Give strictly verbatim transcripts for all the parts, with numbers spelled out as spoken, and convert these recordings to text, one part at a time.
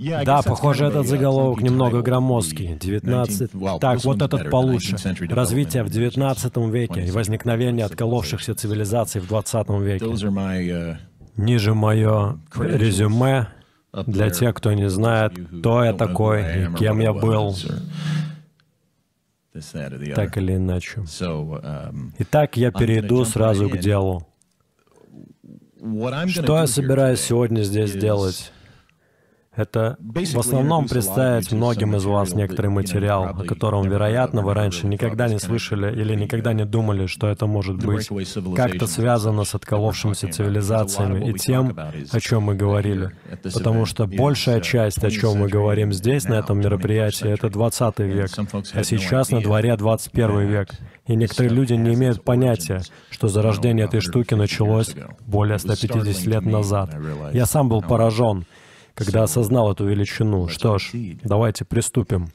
Да, похоже, этот заголовок немного громоздкий. девятнадцать... Так, вот этот получше. Развитие в девятнадцатом веке и возникновение отколовшихся цивилизаций в двадцатом веке. Ниже мое резюме для тех, кто не знает, кто я такой и кем я был, так или иначе. Итак, я перейду сразу к делу. Что я собираюсь сегодня здесь делать? Это в основном представить многим из вас некоторый материал, о котором, вероятно, вы раньше никогда не слышали или никогда не думали, что это может быть как-то связано с отколовшимися цивилизациями и тем, о чем мы говорили. Потому что большая часть, о чем мы говорим здесь, на этом мероприятии, это двадцатый век, а сейчас на дворе двадцать первый век. И некоторые люди не имеют понятия, что зарождение этой штуки началось более ста пятидесяти лет назад. Я сам был поражен, когда осознал эту величину. Что ж, давайте приступим.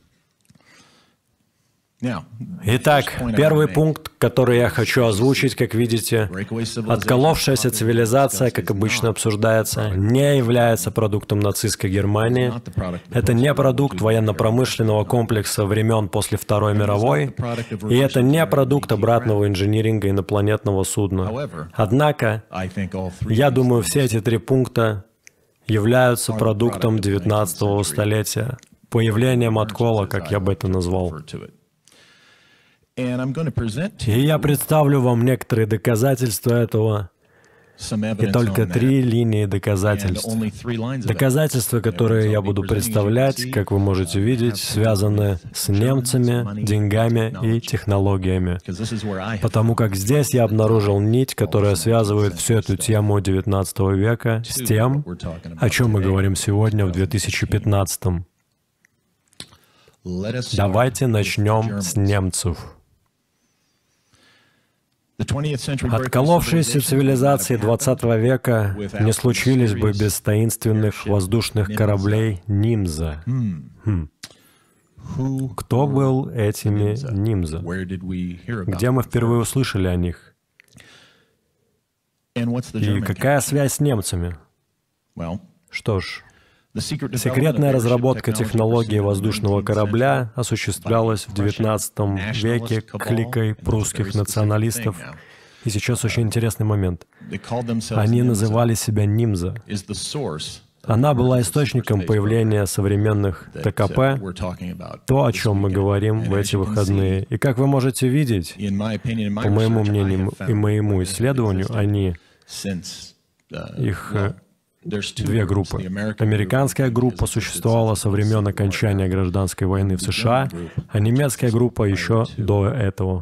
Итак, первый пункт, который я хочу озвучить, как видите, отколовшаяся цивилизация, как обычно обсуждается, не является продуктом нацистской Германии. Это не продукт военно-промышленного комплекса времен после Второй мировой, и это не продукт обратного инжиниринга инопланетного судна. Однако, я думаю, все эти три пункта являются продуктом девятнадцатого столетия, появлением откола, как я бы это назвал. И я представлю вам некоторые доказательства этого, и только три линии доказательств. Доказательства, которые я буду представлять, как вы можете видеть, связаны с немцами, деньгами и технологиями. Потому как здесь я обнаружил нить, которая связывает всю эту тему девятнадцатого века с тем, о чем мы говорим сегодня в две тысячи пятнадцатом. Давайте начнем с немцев. Отколовшиеся цивилизации двадцатого века не случились бы без таинственных воздушных кораблей Нимза. Хм. Кто был этими Нимза? Где мы впервые услышали о них? И какая связь с немцами? Что ж, секретная разработка технологии воздушного корабля осуществлялась в девятнадцатом веке кликой прусских националистов. И сейчас очень интересный момент. Они называли себя Нимза. Она была источником появления современных ТКП, то, о чем мы говорим в эти выходные. И как вы можете видеть, по моему мнению и моему исследованию, они, их две группы. Американская группа существовала со времен окончания гражданской войны в США, а немецкая группа еще до этого.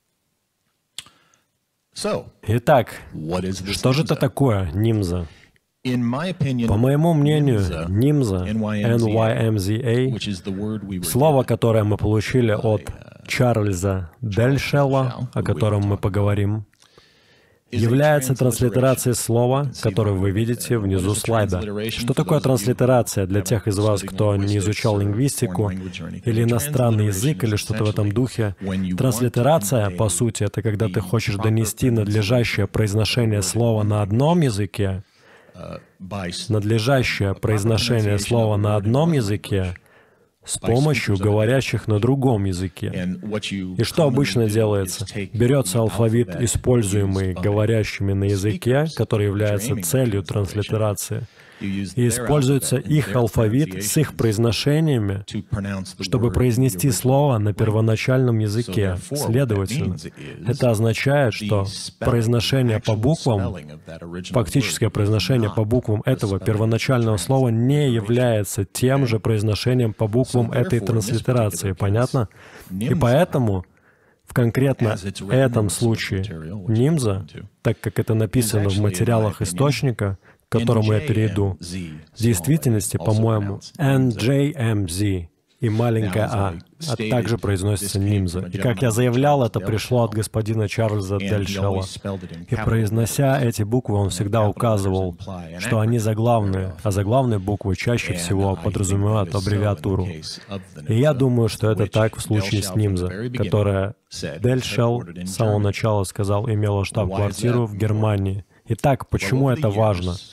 Итак, что же это такое Нимза? По моему мнению, Нимза, эн вай эм зет эй, слово, которое мы получили от Чарльза Дельшелла, о котором мы поговорим, является транслитерацией слова, которое вы видите внизу слайда. Что такое транслитерация для тех из вас, кто не изучал лингвистику или иностранный язык или что-то в этом духе? Транслитерация, по сути, это когда ты хочешь донести надлежащее произношение слова на одном языке, надлежащее произношение слова на одном языке с помощью говорящих на другом языке. И что обычно делается? Берется алфавит, используемый говорящими на языке, который является целью транслитерации, и используется их алфавит с их произношениями, чтобы произнести слово на первоначальном языке. Следовательно, это означает, что произношение по буквам, фактическое произношение по буквам этого первоначального слова не является тем же произношением по буквам этой транслитерации. Понятно? И поэтому в конкретно этом случае Нимза, так как это написано в материалах источника, к которому я перейду, в действительности, по-моему, эн джей эм зет и маленькая «а», а также произносится Нимза. И как я заявлял, это пришло от господина Чарльза Дельшелла. И произнося эти буквы, он всегда указывал, что они заглавные, а заглавные буквы чаще всего подразумевают аббревиатуру. И я думаю, что это так в случае с Нимза, которая Дельшелл с самого начала сказал, имела штаб-квартиру в Германии. Итак, почему это важно?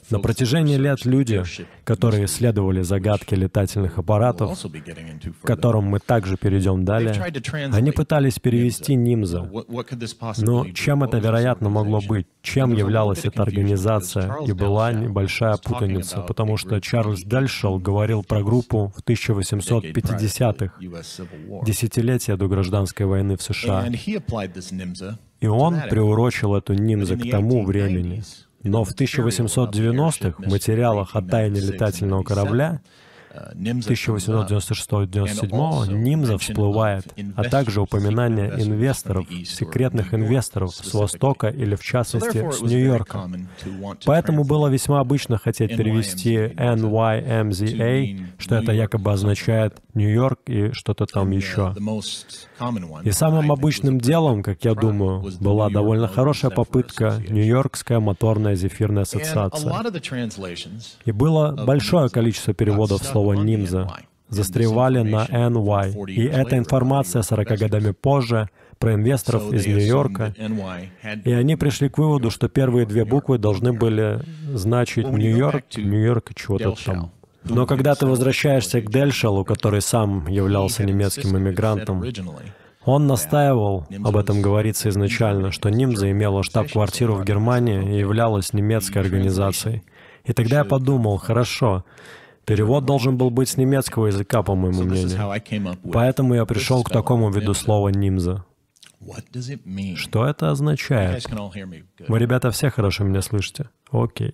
На протяжении лет люди, которые исследовали загадки летательных аппаратов, к которым мы также перейдем далее, они пытались перевести нимза. Но чем это, вероятно, могло быть? Чем являлась эта организация? И была небольшая путаница, потому что Чарльз Дельшел говорил про группу в тысяча восемьсот пятидесятых, десятилетия до гражданской войны в США. И он приурочил эту нимза к тому времени. Но в тысяча восемьсот девяностых в материалах о тайне летательного корабля тысяча восемьсот девяносто шестого — девяносто седьмого нимза всплывает, а также упоминание инвесторов, секретных инвесторов с Востока или, в частности, с Нью-Йорка. Поэтому было весьма обычно хотеть перевести эн уай эм зет эй, что это якобы означает Нью-Йорк и что-то там еще. И самым обычным делом, как я думаю, была довольно хорошая попытка Нью-Йоркская моторная зефирная ассоциация. И было большое количество переводов слова «нимза», застревали на эн уай. И эта информация сорока годами позже про инвесторов из Нью-Йорка. И они пришли к выводу, что первые две буквы должны были значить Нью-Йорк, Нью-Йорк и чего-то там. Но когда ты возвращаешься к Дельшелу, который сам являлся немецким иммигрантом, он настаивал, об этом говорится изначально, что нимза имела штаб-квартиру в Германии и являлась немецкой организацией. И тогда я подумал, хорошо, перевод должен был быть с немецкого языка, по моему мнению. Поэтому я пришел к такому виду слова «нимза». Что это означает? Вы, ребята, все хорошо меня слышите? Окей.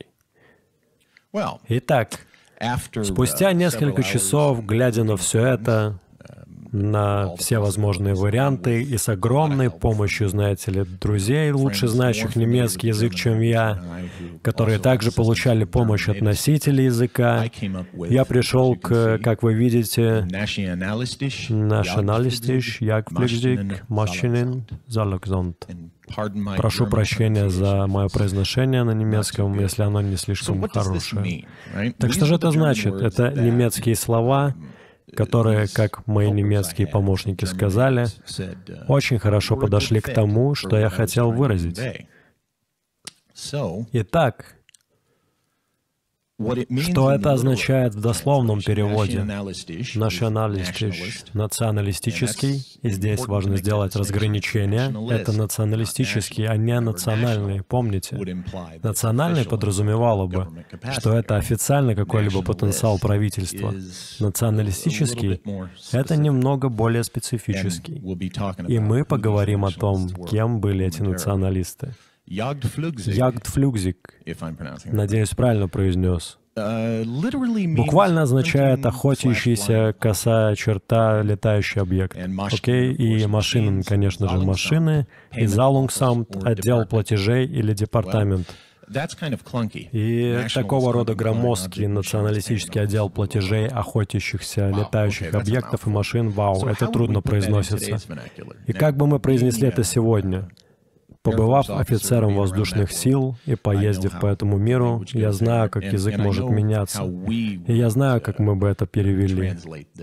Итак, спустя несколько часов, глядя на все это, на все возможные варианты, и с огромной помощью, знаете ли, друзей, лучше знающих немецкий язык, чем я, которые также получали помощь от носителей языка, я пришел к, как вы видите, nationalistisch, jagdpflichtig, Maschinen, Zalogsamt. Прошу прощения за мое произношение на немецком, если оно не слишком хорошее. Так что же это значит? Это немецкие слова, которые, как мои немецкие помощники сказали, очень хорошо подошли к тому, что я хотел выразить. Итак, что это означает в дословном переводе? Националистич, националистический, и здесь важно сделать разграничение. Это националистический, а не национальный, помните? Национальный подразумевало бы, что это официально какой-либо потенциал правительства. Националистический — это немного более специфический. И мы поговорим о том, кем были эти националисты. Jagdflugzeug, надеюсь, правильно произнес. Буквально означает «охотящийся, косая черта, летающий объект». Окей? И машины, конечно же, машины. И Zahlungsamt — отдел платежей или департамент. И такого рода громоздкий националистический отдел платежей, охотящихся, летающих объектов и машин, вау, это трудно произносится. И как бы мы произнесли это сегодня? Побывав офицером воздушных сил и поездив по этому миру, я знаю, как язык может меняться. И я знаю, как мы бы это перевели,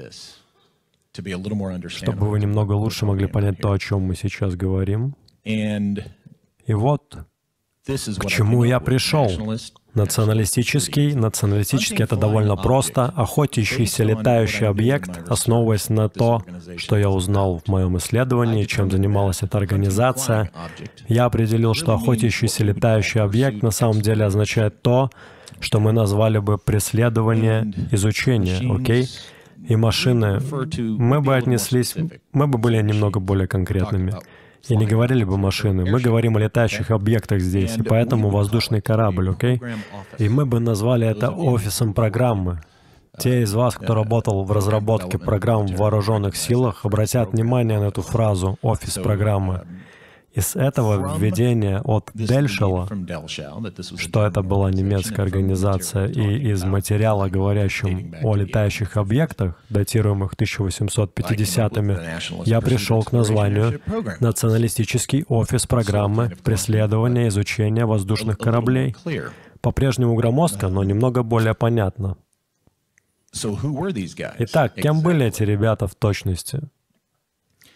чтобы вы немного лучше могли понять то, о чем мы сейчас говорим. И вот к чему я пришел. Националистический. Националистический — это довольно просто. Охотящийся летающий объект, основываясь на то, что я узнал в моем исследовании, чем занималась эта организация, я определил, что охотящийся летающий объект на самом деле означает то, что мы назвали бы преследование, изучение, окей? И машины, мы бы отнеслись, мы бы были немного более конкретными. И не говорили бы машины, мы говорим о летающих объектах здесь, и поэтому воздушный корабль, окей? И мы бы назвали это офисом программы. Те из вас, кто работал в разработке программ в вооруженных силах, обратят внимание на эту фразу «офис программы». Из этого введения от Дельшела, что это была немецкая организация, и из материала, говорящим о летающих объектах, датируемых тысяча восемьсот пятидесятыми, я пришел к названию «Националистический офис программы преследования и изучения воздушных кораблей». По-прежнему громоздко, но немного более понятно. Итак, кем были эти ребята в точности?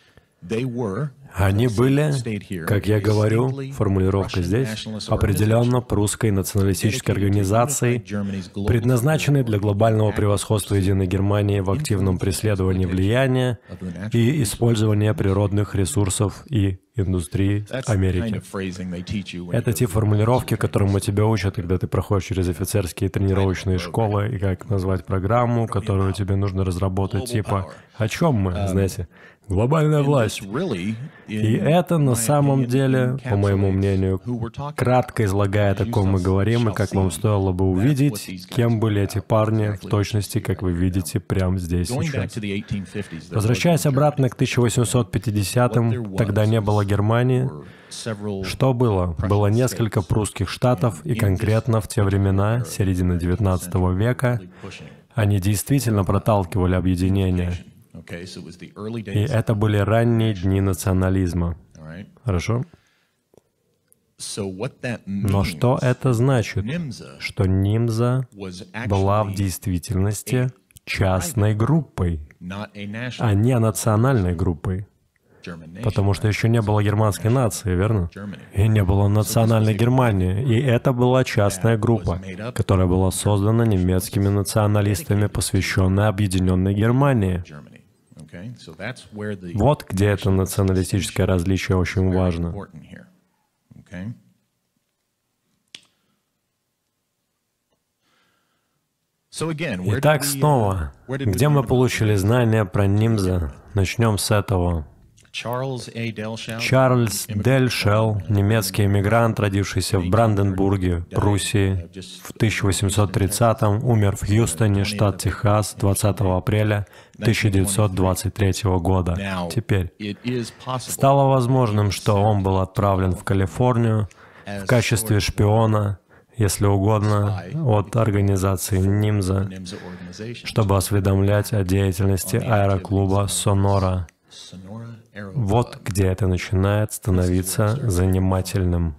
Они были, как я говорю, формулировка здесь, определенно прусской националистической организацией, предназначенной для глобального превосходства единой Германии в активном преследовании влияния и использовании природных ресурсов и индустрии Америки. Это те формулировки, которым тебя учат, когда ты проходишь через офицерские тренировочные школы, и как назвать программу, которую тебе нужно разработать, типа «О чем мы?» Знаете, глобальная власть. И это на самом деле, по моему мнению, кратко излагает, о ком мы говорим, и как вам стоило бы увидеть, кем были эти парни, в точности, как вы видите, прямо здесь сейчас. Возвращаясь обратно к тысяча восемьсот пятидесятым, тогда не было Германии. Что было? Было несколько прусских штатов, и конкретно в те времена, середины девятнадцатого века, они действительно проталкивали объединение. И это были ранние дни национализма. Хорошо? Но что это значит? Что Нимза была в действительности частной группой, а не национальной группой. Потому что еще не было германской нации, верно? И не было национальной Германии. И это была частная группа, которая была создана немецкими националистами, посвященная Объединенной Германии. Вот где это националистическое различие очень важно. Итак, снова, где мы получили знания про Нимза? Начнем с этого. Чарльз Дельшелл, немецкий эмигрант, родившийся в Бранденбурге, Пруссии, в тысяча восемьсот тридцатом, умер в Хьюстоне, штат Техас, двадцатого апреля тысяча девятьсот двадцать третьего года. Теперь, стало возможным, что он был отправлен в Калифорнию в качестве шпиона, если угодно, от организации Нимза, чтобы осведомлять о деятельности аэроклуба «Сонора». Вот где это начинает становиться занимательным.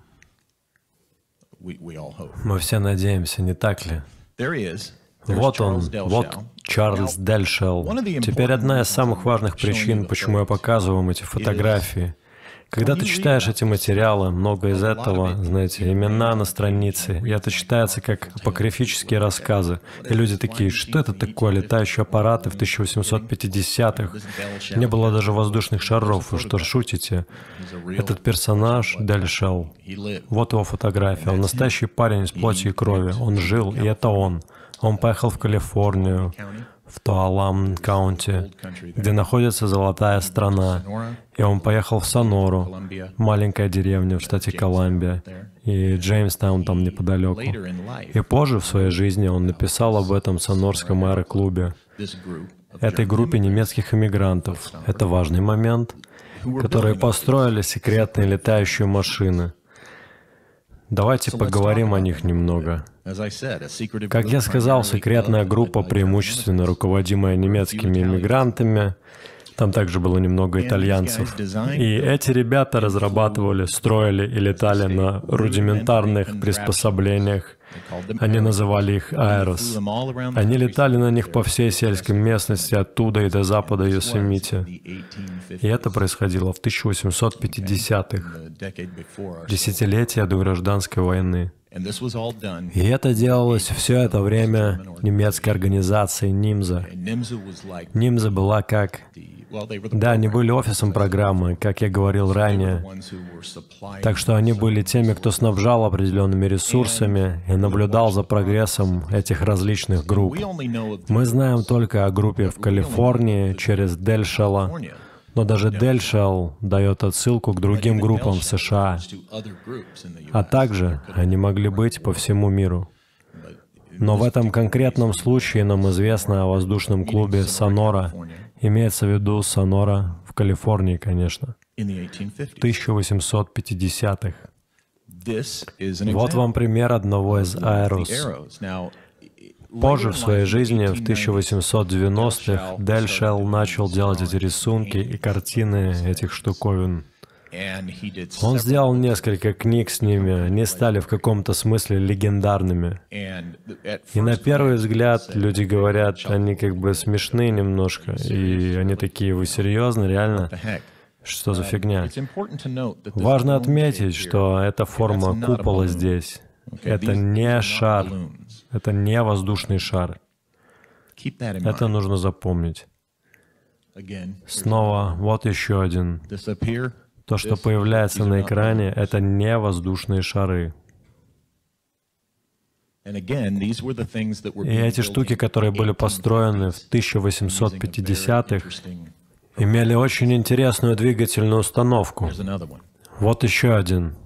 Мы все надеемся, не так ли? Вот он, вот Чарльз Дельшелл. Теперь одна из самых важных причин, почему я показываю вам эти фотографии. Когда ты читаешь эти материалы, много из этого, знаете, имена на странице, и это читается как апокрифические рассказы. И люди такие, что это такое, летающие аппараты в тысяча восемьсот пятидесятых? Не было даже воздушных шаров, вы что, шутите? Этот персонаж Дельшелл, вот его фотография, он настоящий парень из плоти и крови, он жил, и это он. Он поехал в Калифорнию, в Туалам Каунти, где находится золотая страна. И он поехал в Сонору, маленькая деревня в штате Колумбия, и Джеймстаун там неподалеку. И позже в своей жизни он написал об этом сонорском аэроклубе, этой группе немецких иммигрантов. Это важный момент, которые построили секретные летающие машины. Давайте поговорим о них немного. Как я сказал, секретная группа, преимущественно руководимая немецкими иммигрантами, там также было немного итальянцев. И эти ребята разрабатывали, строили и летали на рудиментарных приспособлениях. Они называли их аэрос. Они летали на них по всей сельской местности, оттуда и до запада Йосемити. И это происходило в тысяча восемьсот пятидесятых, десятилетия до гражданской войны. И это делалось все это время немецкой организацией Нимза. Нимза была как... Да, они были офисом программы, как я говорил ранее. Так что они были теми, кто снабжал определенными ресурсами и наблюдал за прогрессом этих различных групп. Мы знаем только о группе в Калифорнии через Дельшелла, но даже Дельшелл дает отсылку к другим группам в США. А также они могли быть по всему миру. Но в этом конкретном случае нам известно о воздушном клубе «Сонора». Имеется в виду «Сонора» в Калифорнии, конечно, в тысяча восемьсот пятидесятых. Вот вам пример одного из аэрос. Позже в своей жизни, в тысяча восемьсот девяностых, Дельшелл начал делать эти рисунки и картины этих штуковин. Он сделал несколько книг с ними, они стали в каком-то смысле легендарными. И на первый взгляд люди говорят, они как бы смешные немножко, и они такие, вы серьезно, реально? Что за фигня? Важно отметить, что эта форма купола здесь — это не шар, это не воздушный шар. Это нужно запомнить. Снова, вот еще один. То, что появляется на экране, это не воздушные шары. И эти штуки, которые были построены в тысяча восемьсот пятидесятых, имели очень интересную двигательную установку. Вот еще один.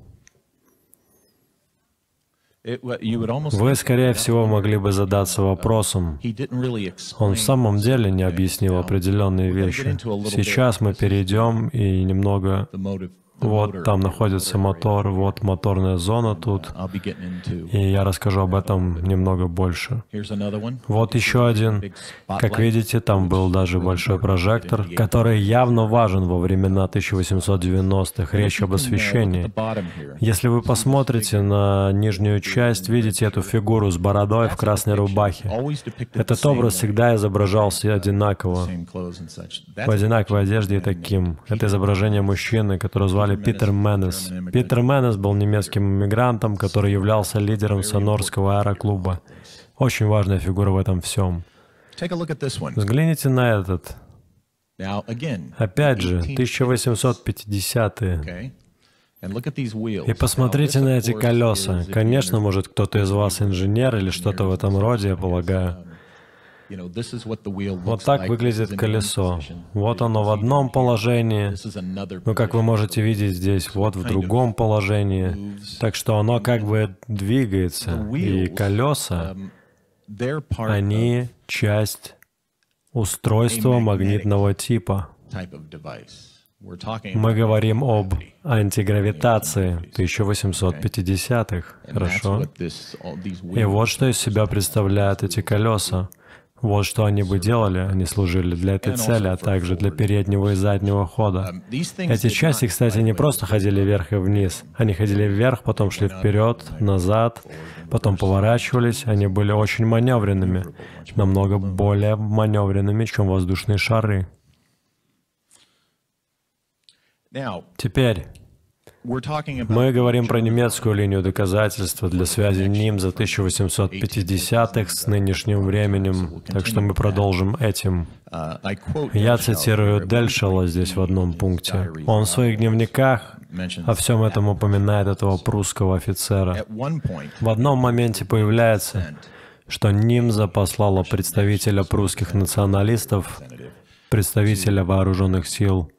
Вы, скорее всего, могли бы задаться вопросом. Он в самом деле не объяснил определенные вещи. Сейчас мы перейдем и немного... Вот там находится мотор, вот моторная зона тут, и я расскажу об этом немного больше. Вот еще один. Как видите, там был даже большой прожектор, который явно важен во времена тысяча восемьсот девяностых, речь об освещении. Если вы посмотрите на нижнюю часть, видите эту фигуру с бородой в красной рубахе. Этот образ всегда изображался одинаково, в одинаковой одежде и таким. Это изображение мужчины, которого звали Питер Менес. Питер Менес был немецким иммигрантом, который являлся лидером сонорского аэроклуба. Очень важная фигура в этом всем. Взгляните на этот. Опять же, тысяча восемьсот пятидесятые. И посмотрите на эти колеса. Конечно, может, кто-то из вас инженер или что-то в этом роде, я полагаю. Вот так выглядит колесо. Вот оно в одном положении, но, как вы можете видеть здесь, вот в другом положении. Так что оно как бы двигается. И колеса, они часть устройства магнитного типа. Мы говорим об антигравитации тысяча восемьсот пятидесятых, хорошо? И вот что из себя представляют эти колеса. Вот что они бы делали, они служили для этой цели, а также для переднего и заднего хода. Эти части, кстати, не просто ходили вверх и вниз. Они ходили вверх, потом шли вперед, назад, потом поворачивались. Они были очень маневренными, намного более маневренными, чем воздушные шары. Теперь мы говорим про немецкую линию доказательства для связи нимза тысяча восемьсот пятидесятых с нынешним временем, так что мы продолжим этим. Я цитирую Дельшела здесь в одном пункте. Он в своих дневниках о всем этом упоминает этого прусского офицера. В одном моменте появляется, что нимза послала представителя прусских националистов, представителя вооруженных сил,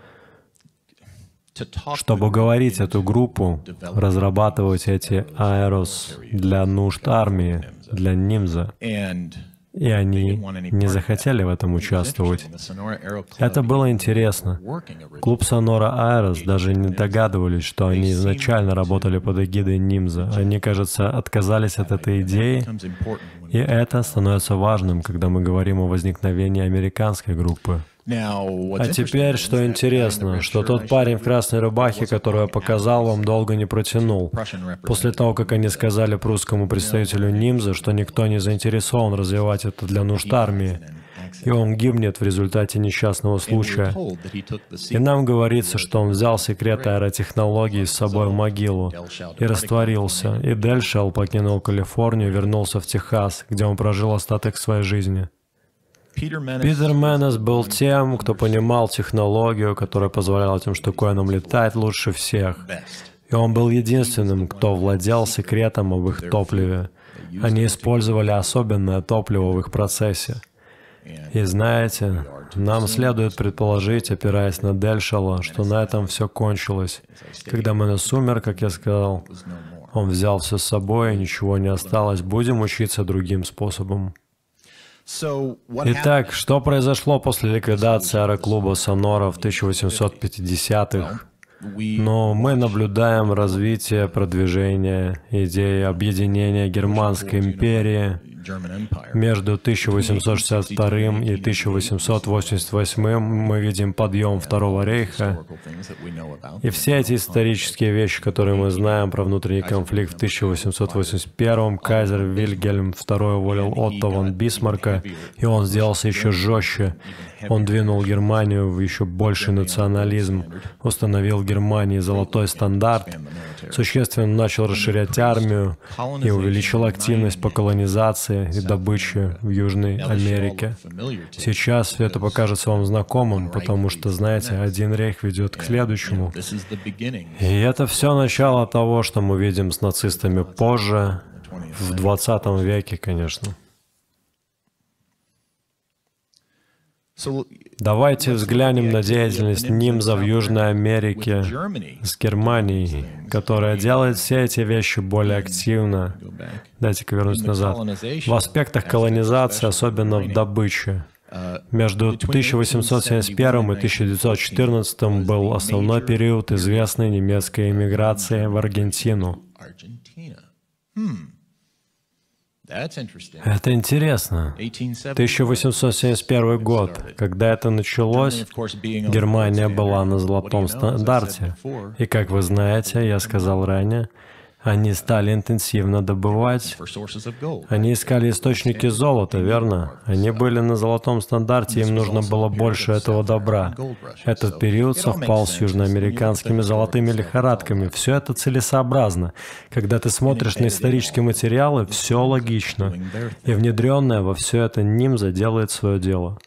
чтобы уговорить эту группу разрабатывать эти аэрос для нужд армии, для нимза. И они не захотели в этом участвовать. Это было интересно. Клуб Sonora Aeros даже не догадывались, что они изначально работали под эгидой нимза. Они, кажется, отказались от этой идеи, и это становится важным, когда мы говорим о возникновении американской группы. А теперь, что интересно, что тот парень в красной рубахе, которого я показал вам, долго не протянул. После того, как они сказали прусскому представителю нимза, что никто не заинтересован развивать это для нужд армии, и он гибнет в результате несчастного случая. И нам говорится, что он взял секрет аэротехнологий с собой в могилу и растворился, и Дельшел покинул Калифорнию и вернулся в Техас, где он прожил остаток своей жизни. Питер Менес был тем, кто понимал технологию, которая позволяла этим штуковинам летать лучше всех. И он был единственным, кто владел секретом об их топливе. Они использовали особенное топливо в их процессе. И знаете, нам следует предположить, опираясь на Дельшела, что на этом все кончилось. Когда Менес умер, как я сказал, он взял все с собой, и ничего не осталось. Будем учиться другим способом. Итак, что произошло после ликвидации аэроклуба Sonora в тысяча восемьсот пятидесятых? Но мы наблюдаем развитие, продвижение идеи объединения Германской империи Между тысяча восемьсот шестьдесят вторым и тысяча восемьсот восемьдесят восьмым мы видим подъем Второго рейха. И все эти исторические вещи, которые мы знаем про внутренний конфликт в тысяча восемьсот восемьдесят первом, кайзер Вильгельм второй уволил Отто фон Бисмарка, и он сделался еще жестче. Он двинул Германию в еще больший национализм, установил в Германии золотой стандарт, существенно начал расширять армию и увеличил активность по колонизации и добыче в Южной Америке. Сейчас все это покажется вам знакомым, потому что, знаете, один рейх ведет к следующему. И это все начало того, что мы видим с нацистами позже, в двадцатом веке, конечно. Давайте взглянем на деятельность Нимза в Южной Америке с Германией, которая делает все эти вещи более активно. Дайте-ка вернусь назад. В аспектах колонизации, особенно в добыче. Между тысяча восемьсот семьдесят первым и тысяча девятьсот четырнадцатым был основной период известной немецкой эмиграции в Аргентину. Это интересно. тысяча восемьсот семьдесят первый год. Когда это началось, Германия была на золотом стандарте. И, как вы знаете, я сказал ранее, они стали интенсивно добывать. Они искали источники золота, верно? Они были на золотом стандарте, им нужно было больше этого добра. Этот период совпал с южноамериканскими золотыми лихорадками. Все это целесообразно. Когда ты смотришь на исторические материалы, все логично. И внедренное во все это Нимза делает свое дело.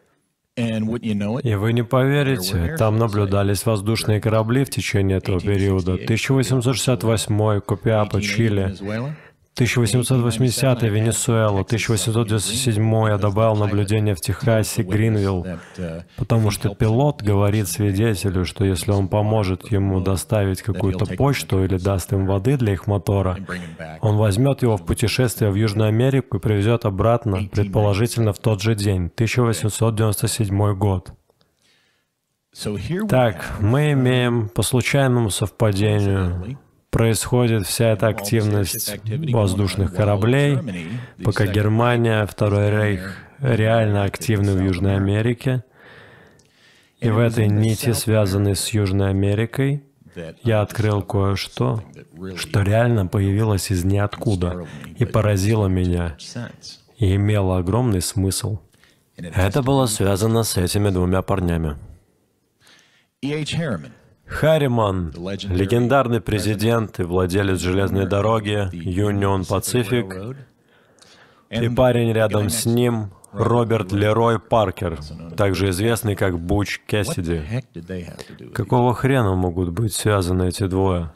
И вы не поверите, там наблюдались воздушные корабли в течение этого периода. тысяча восемьсот шестьдесят восьмой, Копиапо, Чили. тысяча восемьсот восьмидесятый, Венесуэла. тысяча восемьсот девяносто седьмой я добавил наблюдение в Техасе, Гринвилл. Потому что пилот говорит свидетелю, что если он поможет ему доставить какую-то почту или даст им воды для их мотора, он возьмет его в путешествие в Южную Америку и привезет обратно, предположительно в тот же день, тысяча восемьсот девяносто седьмой год. Так, мы имеем по случайному совпадению происходит вся эта активность воздушных кораблей, пока Германия, Второй рейх реально активны в Южной Америке. И в этой нити, связанной с Южной Америкой, я открыл кое-что, что реально появилось из ниоткуда и поразило меня, и имело огромный смысл. Это было связано с этими двумя парнями. Харриман, легендарный президент и владелец железной дороги Union Pacific, и парень рядом с ним, Роберт Лерой Паркер, также известный как Буч Кэссиди. Какого хрена могут быть связаны эти двое?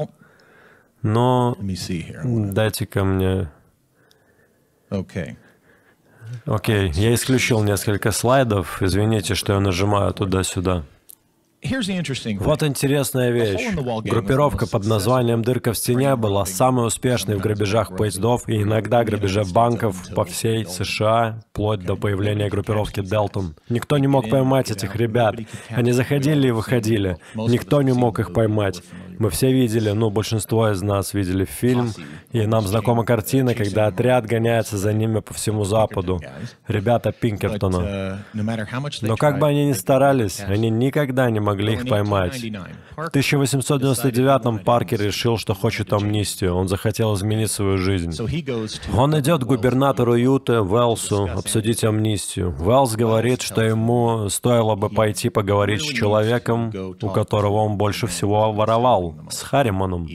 Но дайте-ка мне... Окей, okay, я исключил несколько слайдов, извините, что я нажимаю туда-сюда. Вот интересная вещь. Группировка под названием «Дырка в стене» была самой успешной в грабежах поездов и иногда грабеже банков по всей США, вплоть до появления группировки «Делтон». Никто не мог поймать этих ребят. Они заходили и выходили. Никто не мог их поймать. Мы все видели, ну, большинство из нас видели фильм, и нам знакома картина, когда отряд гоняется за ними по всему Западу. Ребята Пинкертона. Но как бы они ни старались, они никогда не могли их поймать. В тысяча восемьсот девяносто девятом Паркер решил, что хочет амнистию. Он захотел изменить свою жизнь. Он идет к губернатору Юты, Уэллсу, обсудить амнистию. Уэллс говорит, что ему стоило бы пойти поговорить с человеком, у которого он больше всего воровал, с Харриманом.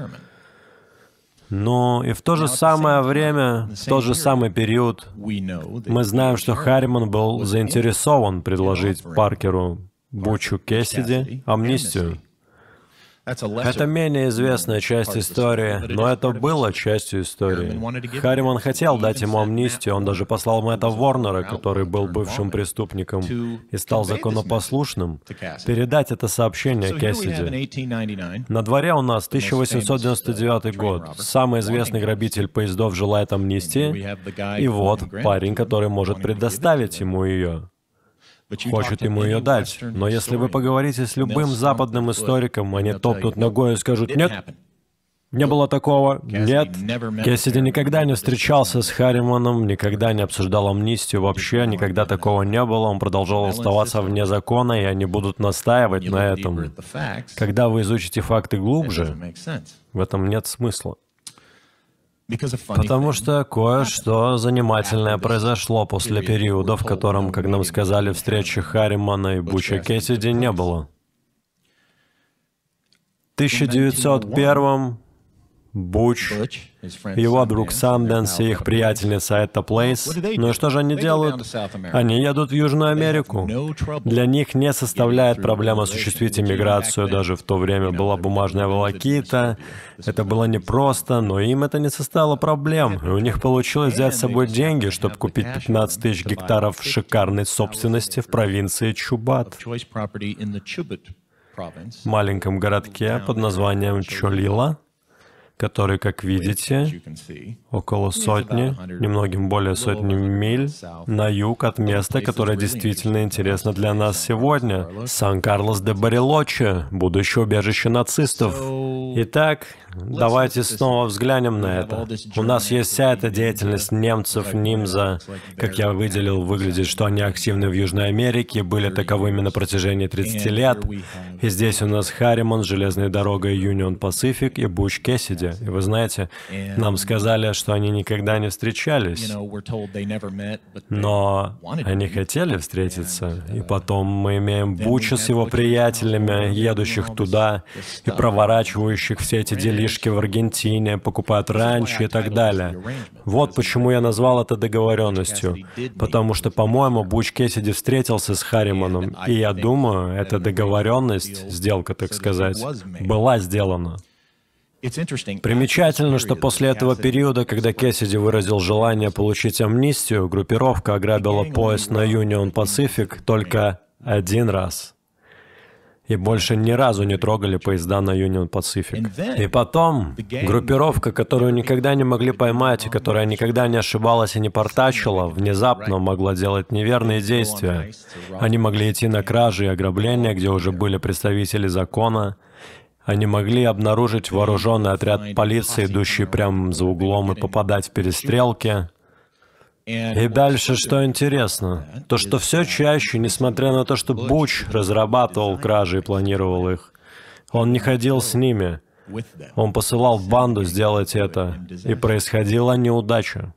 Но и в то же самое время, в тот же самый период, мы знаем, что Харриман был заинтересован предложить Паркеру Бучу Кэссиди амнистию. Это менее известная часть истории, но это было частью истории. Харриман хотел дать ему амнистию, он даже послал Мэтта Ворнера, который был бывшим преступником и стал законопослушным, передать это сообщение Кэссиди. На дворе у нас тысяча восемьсот девяносто девятый год. Самый известный грабитель поездов желает амнистии, и вот парень, который может предоставить ему ее. Хочет ему ее дать. Но если вы поговорите с любым западным историком, они топнут ногой и скажут «нет». Не было такого? Нет. Кэссиди никогда не встречался с Харриманом, никогда не обсуждал амнистию вообще, никогда такого не было. Он продолжал оставаться вне закона, и они будут настаивать на этом. Когда вы изучите факты глубже, в этом нет смысла. Потому что кое-что занимательное произошло после периода, в котором, как нам сказали, встречи Харримана и Буча Кэссиди не было. В тысяча девятьсот первом Буч, его друг Санденс и их приятельница Этта Плейс. Ну и что же они делают? Они едут в Южную Америку. Для них не составляет проблем осуществить иммиграцию. Даже в то время была бумажная волокита. Это было непросто, но им это не составило проблем. И у них получилось взять с собой деньги, чтобы купить пятнадцать тысяч гектаров шикарной собственности в провинции Чубат, в маленьком городке под названием Чолила, который, как видите, около сотни, немногим более сотни миль на юг от места, которое действительно интересно для нас сегодня — Сан-Карлос-де-Барилоче, будущее убежище нацистов. Итак, давайте снова взглянем на это. У нас есть вся эта деятельность немцев, нимза, как я выделил, выглядит, что они активны в Южной Америке, были таковыми на протяжении тридцати лет. И здесь у нас Харриман, железной дорогой Union Pacific и Буч Кэссиди. И вы знаете, нам сказали, что они никогда не встречались, но они хотели встретиться. И потом мы имеем Буча с его приятелями, едущих туда и проворачивающих все эти делишки в Аргентине, покупают ранчо и так далее. Вот почему я назвал это договоренностью. Потому что, по-моему, Буч Кэссиди встретился с Харриманом, и я думаю, эта договоренность, сделка, так сказать, была сделана. Примечательно, что после этого периода, когда Кэссиди выразил желание получить амнистию, группировка ограбила поезд на Union Pacific только один раз. И больше ни разу не трогали поезда на Union Pacific. И потом группировка, которую никогда не могли поймать, и которая никогда не ошибалась и не портачила, внезапно могла делать неверные действия. Они могли идти на кражи и ограбления, где уже были представители закона. Они могли обнаружить вооруженный отряд полиции, идущий прямо за углом, и попадать в перестрелки. И дальше, что интересно, то, что все чаще, несмотря на то, что Буч разрабатывал кражи и планировал их, он не ходил с ними. Он посылал банду сделать это, и происходила неудача.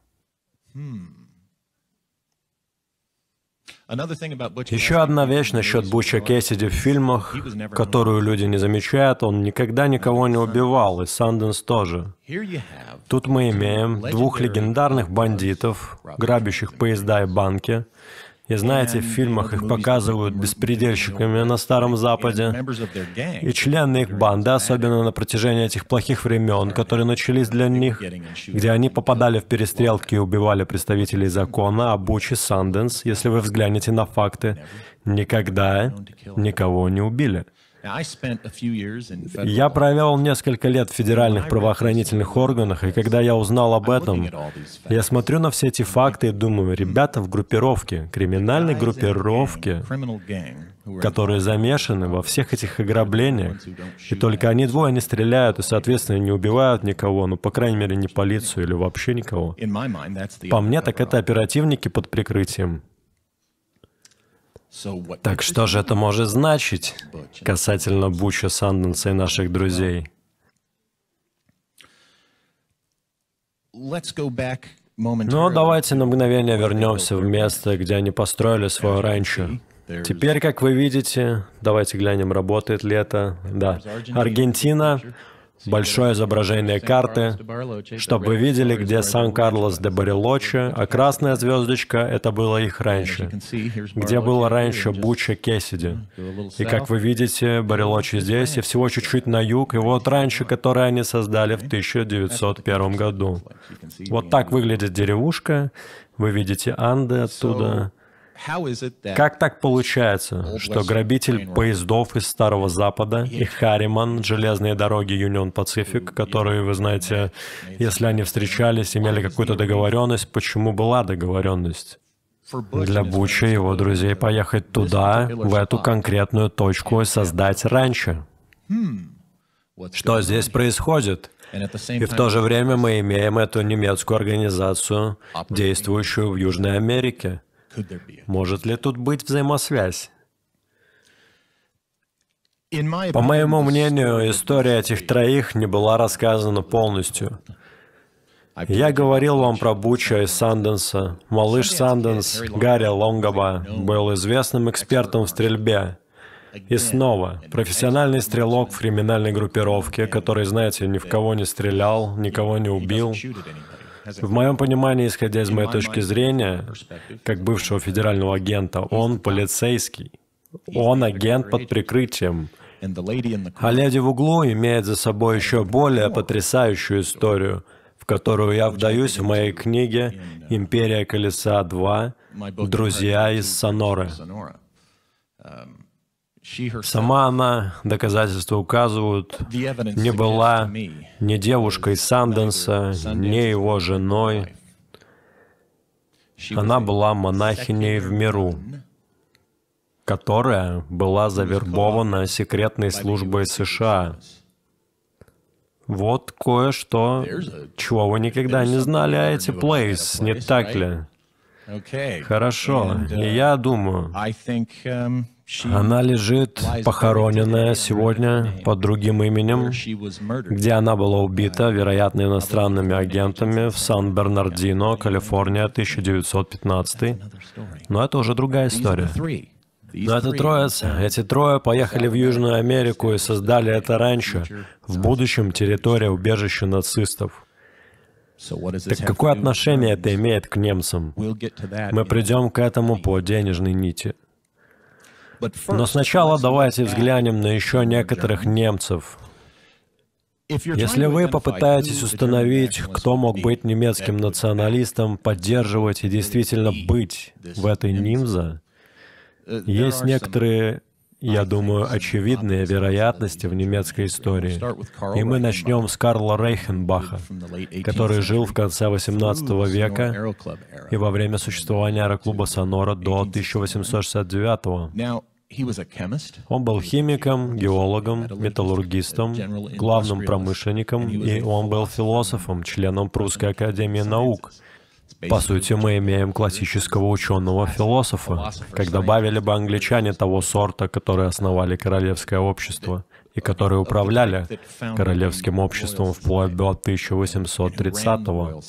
Еще одна вещь насчет Буча Кэссиди в фильмах, которую люди не замечают: он никогда никого не убивал, и Санденс тоже. Тут мы имеем двух легендарных бандитов, грабящих поезда и банки. И знаете, в фильмах их показывают беспредельщиками на Старом Западе. И члены их банды, особенно на протяжении этих плохих времен, которые начались для них, где они попадали в перестрелки и убивали представителей закона, а Буч и Санденс, если вы взглянете на факты, никогда никого не убили. Я провел несколько лет в федеральных правоохранительных органах, и когда я узнал об этом, я смотрю на все эти факты и думаю, ребята в группировке, криминальной группировке, которые замешаны во всех этих ограблениях, и только они двое не стреляют и, соответственно, не убивают никого, ну, по крайней мере, не полицию или вообще никого. По мне, так это оперативники под прикрытием. Так что же это может значить касательно Буча, Санденса и наших друзей? Ну, давайте на мгновение вернемся в место, где они построили свое ранчо. Теперь, как вы видите, давайте глянем, работает ли это. Да, Аргентина. Большое изображение карты, чтобы вы видели, где Сан-Карлос-де-Барилоче, а красная звездочка — это было их раньше, где было раньше Буча Кэссиди. И как вы видите, Барилоче здесь, и всего чуть-чуть на юг, и вот раньше, которое они создали в тысяча девятьсот первом году. Вот так выглядит деревушка, вы видите Анды оттуда. Как так получается, что грабитель поездов из Старого Запада и Харриман, железные дороги Union Pacific, которые, вы знаете, если они встречались, имели какую-то договоренность, почему была договоренность? Для Буча и его друзей поехать туда, в эту конкретную точку и создать ранчо. Что здесь происходит? И в то же время мы имеем эту немецкую организацию, действующую в Южной Америке. Может ли тут быть взаимосвязь? По моему мнению, история этих троих не была рассказана полностью. Я говорил вам про Буча из Санденса. Малыш Санденс, Гарри Лонгаба, был известным экспертом в стрельбе. И снова, профессиональный стрелок в криминальной группировке, который, знаете, ни в кого не стрелял, никого не убил. В моем понимании, исходя из моей точки зрения, как бывшего федерального агента, он полицейский. Он агент под прикрытием. А леди в углу имеет за собой еще более потрясающую историю, в которую я вдаюсь в моей книге «Империя колеса два. Друзья из Соноры». Сама она, доказательства указывают, не была ни девушкой Санденса, ни его женой. Она была монахиней в миру, которая была завербована секретной службой США. Вот кое-что, чего вы никогда не знали о эти Плейс, не так ли? Хорошо, и я думаю, она лежит похороненная сегодня под другим именем, где она была убита, вероятно, иностранными агентами в Сан-Бернардино, Калифорния, тысяча девятьсот пятнадцатый. Но это уже другая история. Но это троица, эти трое поехали в Южную Америку и создали это раньше, в будущем территория убежища нацистов. Так какое отношение это имеет к немцам? Мы придем к этому по денежной нити. Но сначала давайте взглянем на еще некоторых немцев. Если вы попытаетесь установить, кто мог быть немецким националистом, поддерживать и действительно быть в этой нимзе, есть некоторые, я думаю, очевидные вероятности в немецкой истории. И мы начнем с Карла Рейхенбаха, который жил в конце восемнадцатого века и во время существования аэроклуба «Сонора» до тысяча восемьсот шестьдесят девятого. Он был химиком, геологом, металлургистом, главным промышленником, и он был философом, членом Прусской академии наук. По сути, мы имеем классического ученого-философа, как добавили бы англичане того сорта, которые основали Королевское общество и которые управляли Королевским обществом вплоть до тысяча восемьсот тридцатого,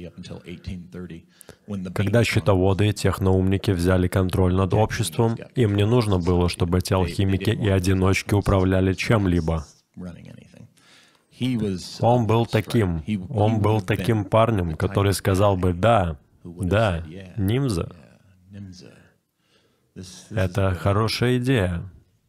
когда счетоводы и техноумники взяли контроль над обществом, им не нужно было, чтобы эти алхимики и одиночки управляли чем-либо. Он был таким, он был таким парнем, который сказал бы: «Да, да, нимза. Это хорошая идея».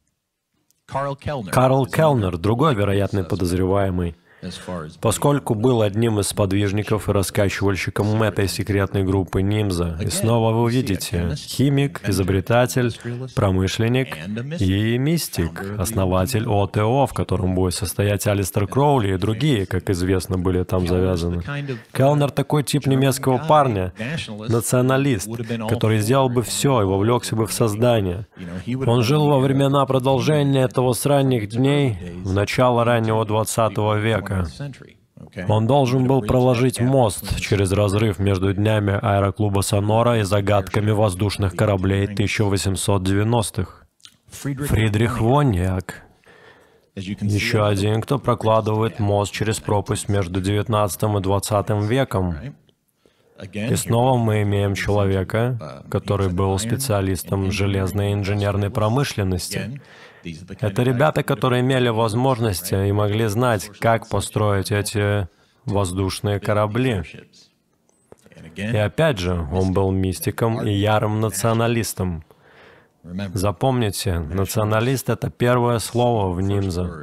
Карл Келлнер, другой вероятный подозреваемый, поскольку был одним из сподвижников и раскачивальщиком этой секретной группы нимза. И снова вы увидите: химик, изобретатель, промышленник и мистик, основатель О Т О, в котором будет состоять Алистер Кроули и другие, как известно, были там завязаны. Келлнер такой тип немецкого парня, националист, который сделал бы все и вовлекся бы в создание. Он жил во времена продолжения этого с ранних дней, в начало раннего двадцатого века. Он должен был проложить мост через разрыв между днями аэроклуба «Сонора» и загадками воздушных кораблей тысяча восемьсот девяностых. Фридрих Вонниак. Еще один, кто прокладывает мост через пропасть между девятнадцатым и двадцатым веком. И снова мы имеем человека, который был специалистом в железной инженерной промышленности. Это ребята, которые имели возможности и могли знать, как построить эти воздушные корабли. И опять же, он был мистиком и ярым националистом. Запомните, националист — это первое слово в нимзе.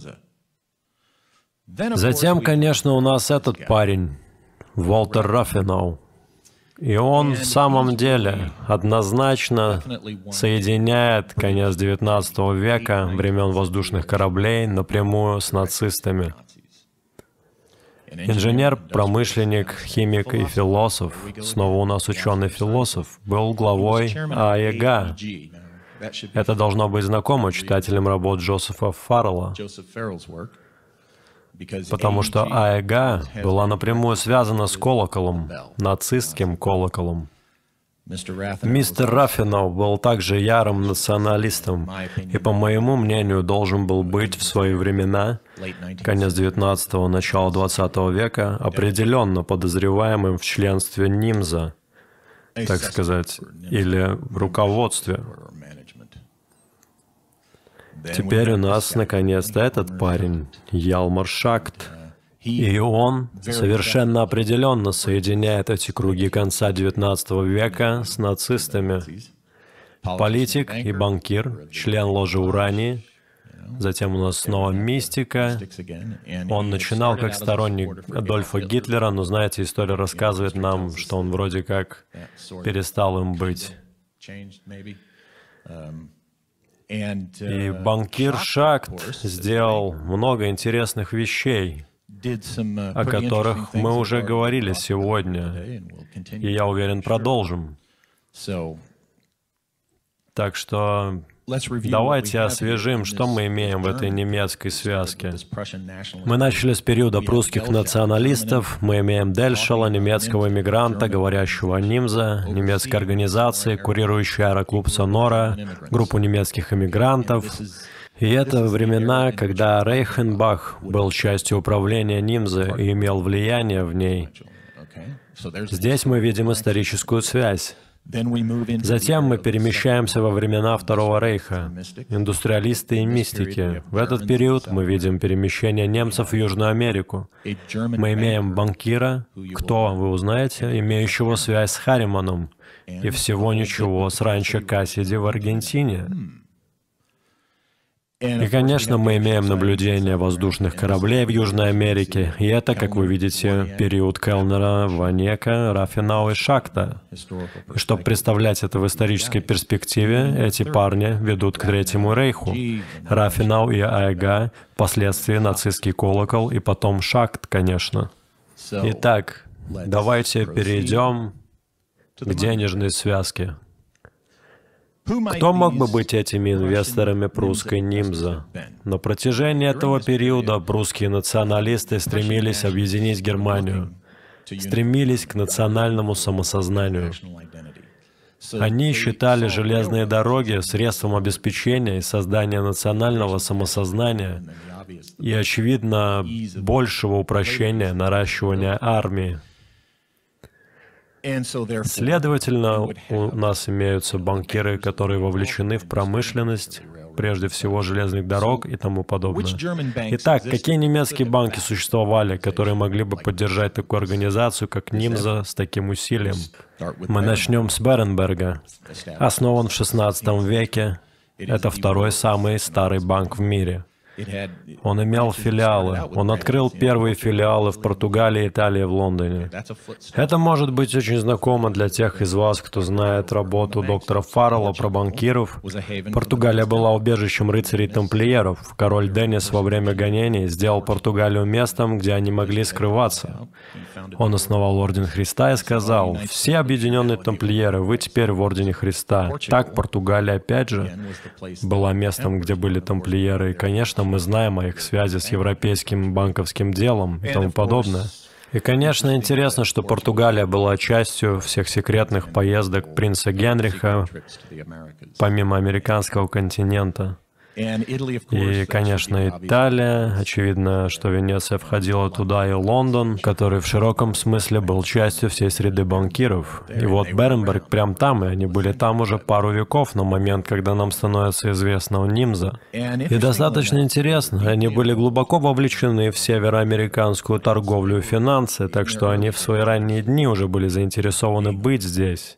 Затем, конечно, у нас этот парень, Волтер Раффенау. И он в самом деле однозначно соединяет конец девятнадцатого века, времен воздушных кораблей, напрямую с нацистами. Инженер, промышленник, химик и философ, снова у нас ученый-философ, был главой А И Г. Это должно быть знакомо читателям работ Джозефа Фаррелла. потому что АЭГ была напрямую связана с колоколом, нацистским колоколом. Мистер Раффенау был также ярым националистом и, по моему мнению, должен был быть в свои времена, конец девятнадцатого, начало двадцатого века, определенно подозреваемым в членстве нимза, так сказать, или в руководстве. Теперь у нас, наконец-то, этот парень, Ялмар Шахт. И он совершенно определенно соединяет эти круги конца девятнадцатого века с нацистами. Политик и банкир, член ложи Урании. Затем у нас снова мистика. Он начинал как сторонник Адольфа Гитлера, но, знаете, история рассказывает нам, что он вроде как перестал им быть. И банкир Шахт сделал много интересных вещей, о которых мы уже говорили сегодня, и, я уверен, продолжим. Так что давайте освежим, что мы имеем в этой немецкой связке. Мы начали с периода прусских националистов, мы имеем Дельшала, немецкого эмигранта, говорящего нимза, немецкой организации, курирующей аэроклуб «Сонора», группу немецких эмигрантов. И это времена, когда Рейхенбах был частью управления нимза и имел влияние в ней. Здесь мы видим историческую связь. Затем мы перемещаемся во времена Второго Рейха, индустриалисты и мистики. В этот период мы видим перемещение немцев в Южную Америку. Мы имеем банкира, кто, вы узнаете, имеющего связь с Харриманом, и всего ничего с ранчо Кассиди в Аргентине. И, конечно, мы имеем наблюдение воздушных кораблей в Южной Америке, и это, как вы видите, период Келлнера, Ванека, Раффенау и Шахта. И чтобы представлять это в исторической перспективе, эти парни ведут к Третьему Рейху. Раффенау и АЭГ, впоследствии нацистский колокол, и потом Шахт, конечно. Итак, давайте перейдем к денежной связке. Кто мог бы быть этими инвесторами прусской нимза? На протяжении этого периода прусские националисты стремились объединить Германию, стремились к национальному самосознанию. Они считали железные дороги средством обеспечения и создания национального самосознания и, очевидно, большего упрощения наращивания армии. Следовательно, у нас имеются банкиры, которые вовлечены в промышленность, прежде всего железных дорог и тому подобное. Итак, какие немецкие банки существовали, которые могли бы поддержать такую организацию, как нимза, с таким усилием? Мы начнем с Беренберга. Основан в шестнадцатом веке. Это второй самый старый банк в мире. Он имел филиалы. Он открыл первые филиалы в Португалии, Италии, в Лондоне. Это может быть очень знакомо для тех из вас, кто знает работу доктора Фаррелла про банкиров. Португалия была убежищем рыцарей-тамплиеров. Король Деннис во время гонений сделал Португалию местом, где они могли скрываться. Он основал Орден Христа и сказал: «Все объединенные тамплиеры, вы теперь в Ордене Христа». Так Португалия, опять же, была местом, где были тамплиеры. И, конечно, мы знаем о их связи с европейским банковским делом и тому подобное. И, конечно, интересно, что Португалия была частью всех секретных поездок принца Генриха помимо американского континента. И, конечно, Италия. Очевидно, что Венеция входила туда, и Лондон, который в широком смысле был частью всей среды банкиров. И вот Беренберг прям там, и они были там уже пару веков на момент, когда нам становится известно о нимза. И достаточно интересно, они были глубоко вовлечены в североамериканскую торговлю и финансы, так что они в свои ранние дни уже были заинтересованы быть здесь.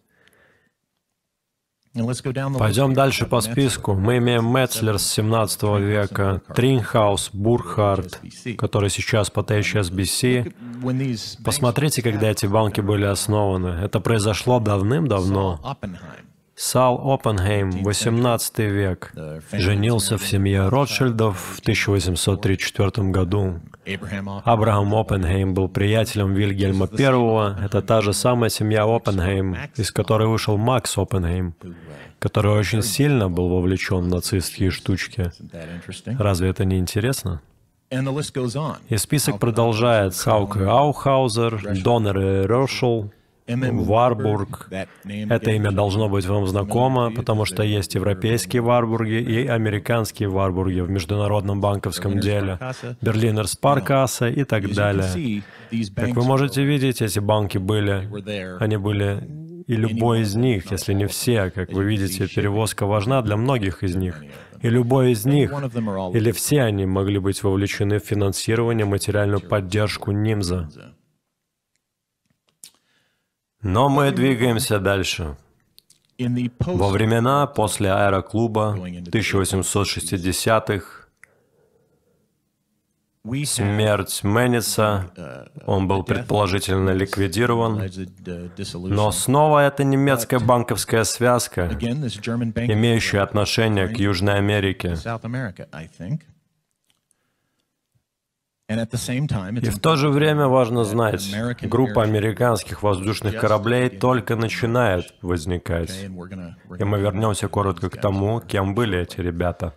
Пойдем дальше по списку. Мы имеем Метцлер с семнадцатого века, Трингхаус, Бурхард, который сейчас по Т H S B C. Посмотрите, когда эти банки были основаны. Это произошло давным-давно. Сал Оппенхейм, восемнадцатый век, женился в семье Ротшильдов в тысяча восемьсот тридцать четвёртом году. Абрахам Оппенхейм был приятелем Вильгельма Первого. Это та же самая семья Оппенхейм, из которой вышел Макс Оппенхейм, который очень сильно был вовлечен в нацистские штучки. Разве это не интересно? И список продолжается. Хауке Аухаузер, Доннер и Рошел, Варбург. Это имя должно быть вам знакомо, потому что есть европейские Варбурги и американские Варбурги в международном банковском деле, Берлинер Спаркассе и так далее. Как вы можете видеть, эти банки были, они были, и любой из них, если не все, как вы видите, перевозка важна для многих из них. И любой из них, или все они, могли быть вовлечены в финансирование, материальную поддержку нимза. Но мы двигаемся дальше. Во времена после аэроклуба тысяча восемьсот шестидесятых, смерть Менниса, он был предположительно ликвидирован, но снова это немецкая банковская связка, имеющая отношение к Южной Америке. И в то же время важно знать, группа американских воздушных кораблей только начинает возникать. И мы вернемся коротко к тому, кем были эти ребята.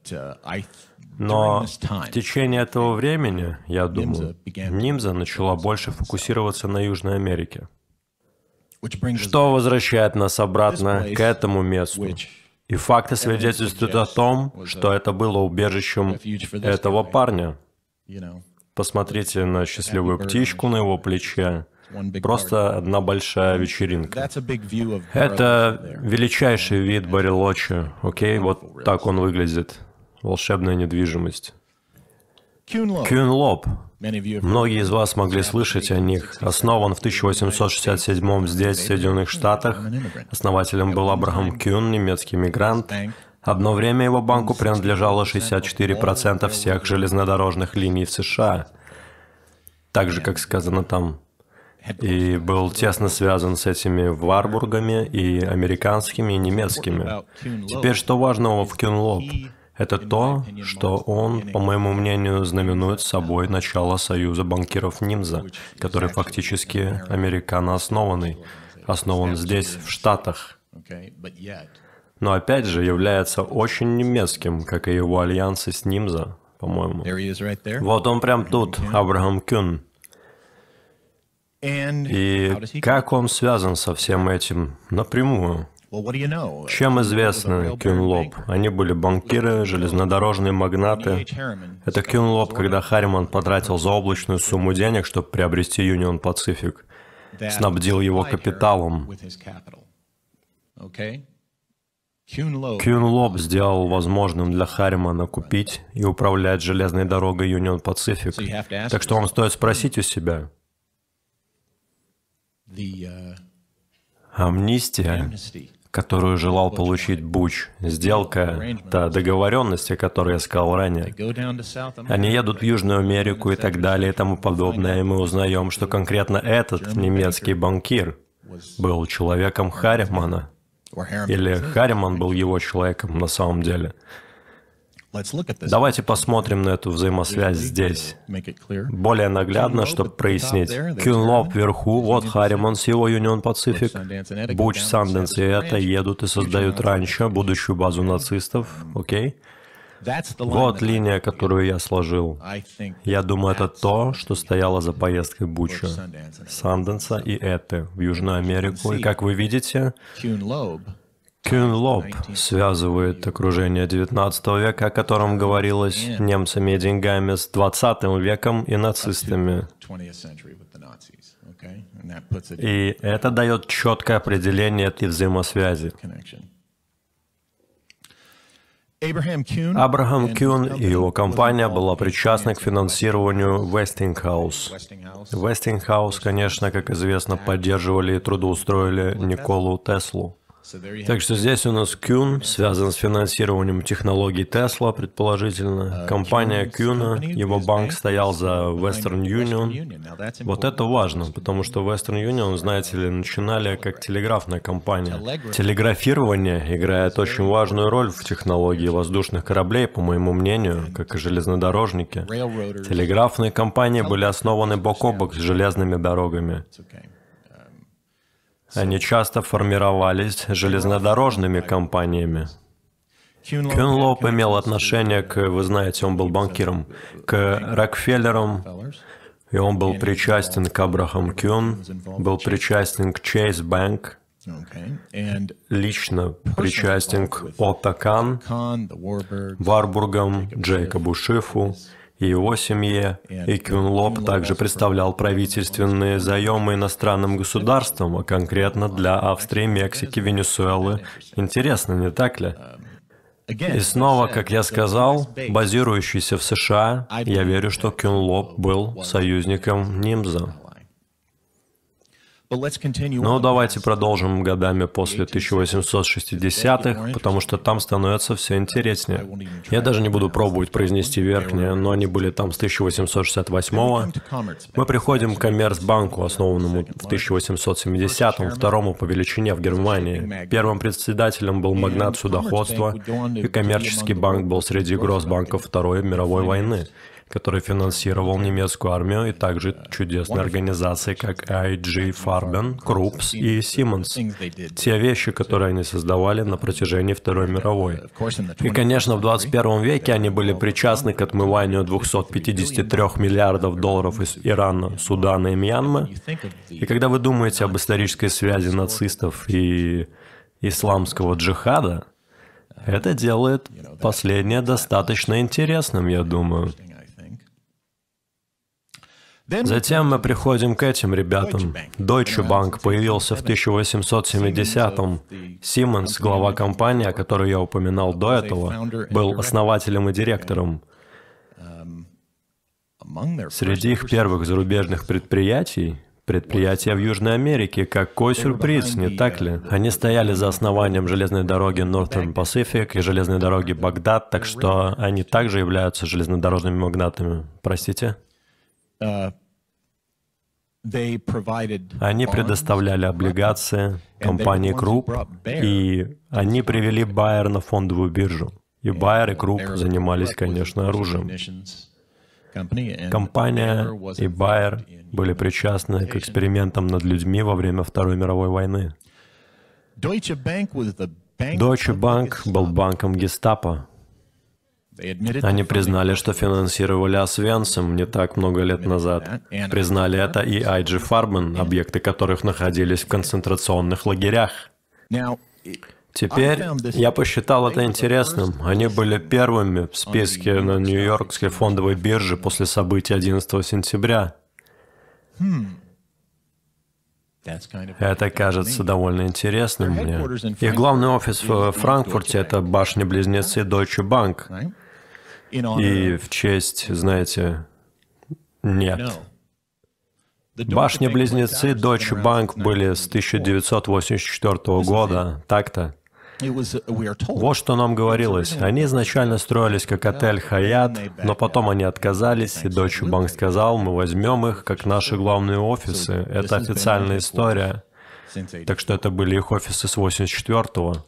Но в течение этого времени, я думаю, нимза начала больше фокусироваться на Южной Америке. Что возвращает нас обратно к этому месту. И факты свидетельствуют о том, что это было убежищем этого парня. Посмотрите на счастливую птичку на его плече. Просто одна большая вечеринка. Это величайший вид Барелочи. Окей, вот так он выглядит. Волшебная недвижимость. Кюн-Лоб. Многие из вас могли слышать о них. Основан в тысяча восемьсот шестьдесят седьмом здесь, в Соединенных Штатах. Основателем был Абрахам Кюн, немецкий мигрант. Одно время его банку принадлежало шестьдесят четыре процента всех железнодорожных линий в США. Так же, как сказано там. И был тесно связан с этими Варбургами и американскими, и немецкими. Теперь, что важного в Кюн-Лоб? Это то, что он, по моему мнению, знаменует собой начало союза банкиров нимза, который фактически американо-основанный, основан здесь, в Штатах. Но опять же является очень немецким, как и его альянсы с нимза, по-моему. Вот он прям тут, Абрахам Кюн. И как он связан со всем этим напрямую? Чем известны Кюн-Лоб? Они были банкиры, железнодорожные магнаты. Это Кюн-Лоб, когда Харриман потратил заоблачную сумму денег, чтобы приобрести Union Pacific, снабдил его капиталом. Кюн-Лоб сделал возможным для Харримана купить и управлять железной дорогой Union Pacific. Так что вам стоит спросить у себя. Амнистия, которую желал получить Буч, сделка, та договоренность, о которой я сказал ранее. Они едут в Южную Америку и так далее и тому подобное, и мы узнаем, что конкретно этот немецкий банкир был человеком Харримана. Или Харриман был его человеком на самом деле. Давайте посмотрим на эту взаимосвязь здесь. Более наглядно, чтобы прояснить. Кюн-Лоб вверху, вот Харриман с его Union Pacific, Буч, Санденс и это едут и создают раньше будущую базу нацистов, окей? Вот линия, которую я сложил. Я думаю, это то, что стояло за поездкой Буча, Санденса и это в Южную Америку. И как вы видите, Кюн-Лоб связывает окружение девятнадцатого века, о котором говорилось, немцами и деньгами, с двадцатым веком и нацистами. И это дает четкое определение этой взаимосвязи. Абрахам Кюн и его компания была причастна к финансированию Westinghouse. Westinghouse, конечно, как известно, поддерживали и трудоустроили Николу Теслу. Так что здесь у нас Кюн связан с финансированием технологий Тесла, предположительно. Компания Кюна, его банк стоял за Western Union. Вот это важно, потому что Western Union, знаете ли, начинали как телеграфная компания. Телеграфирование играет очень важную роль в технологии воздушных кораблей, по моему мнению, как и железнодорожники. Телеграфные компании были основаны бок о бок с железными дорогами. Они часто формировались железнодорожными компаниями. Кюнлоп имел отношение к, вы знаете, он был банкиром, к Рокфеллерам, и он был причастен к Абрахам Кюн, был причастен к Chase Bank, лично причастен к Отто Кан, Варбургам, Джейкобу Шифу и его семье. И Кюнлоп также представлял правительственные заемы иностранным государствам, а конкретно для Австрии, Мексики, Венесуэлы. Интересно, не так ли? И снова, как я сказал, базирующийся в США, я верю, что Кюнлоп был союзником Нимза. Но давайте продолжим годами после тысяча восемьсот шестидесятых, потому что там становится все интереснее. Я даже не буду пробовать произнести верхнее, но они были там с тысяча восемьсот шестьдесят восьмого. Мы приходим к Коммерцбанку, основанному в тысяча восемьсот семидесятом, второму по величине в Германии. Первым председателем был магнат судоходства, и коммерческий банк был среди гроссбанков Второй мировой войны, который финансировал немецкую армию, и также чудесные организации, как ай джи Farben, Крупс и Siemens. Те вещи, которые они создавали на протяжении Второй мировой. И, конечно, в двадцать первом веке они были причастны к отмыванию двухсот пятидесяти трёх миллиардов долларов из Ирана, Судана и Мьянмы. И когда вы думаете об исторической связи нацистов и исламского джихада, это делает последнее достаточно интересным, я думаю. Затем мы приходим к этим ребятам. Deutsche Bank появился в тысяча восемьсот семидесятом. Siemens, глава компании, о которой я упоминал до этого, был основателем и директором. Среди их первых зарубежных предприятий — предприятия в Южной Америке. Какой сюрприз, не так ли? Они стояли за основанием железной дороги Northern Pacific и железной дороги Багдад, так что они также являются железнодорожными магнатами. Простите? Они предоставляли облигации компании Круп, и они привели Байер на фондовую биржу. И Байер и Круп занимались, конечно, оружием. Компания и Байер были причастны к экспериментам над людьми во время Второй мировой войны. Deutsche Bank был банком гестапо. Они признали, что финансировали Освенцим не так много лет назад. Признали это и ай джи Farben, объекты которых находились в концентрационных лагерях. Теперь я посчитал это интересным. Они были первыми в списке на Нью-Йоркской фондовой бирже после событий одиннадцатого сентября. Это кажется довольно интересным мне. Их главный офис в Франкфурте — это башни-близнецы Deutsche Bank. И в честь, знаете, нет. Башни-близнецы Deutsche Bank были с тысяча девятьсот восемьдесят четвёртого года, так-то. Вот что нам говорилось. Они изначально строились как отель Хаят, но потом они отказались, и Deutsche Bank сказал, мы возьмем их как наши главные офисы. Это официальная история. Так что это были их офисы с восемьдесят четвёртого.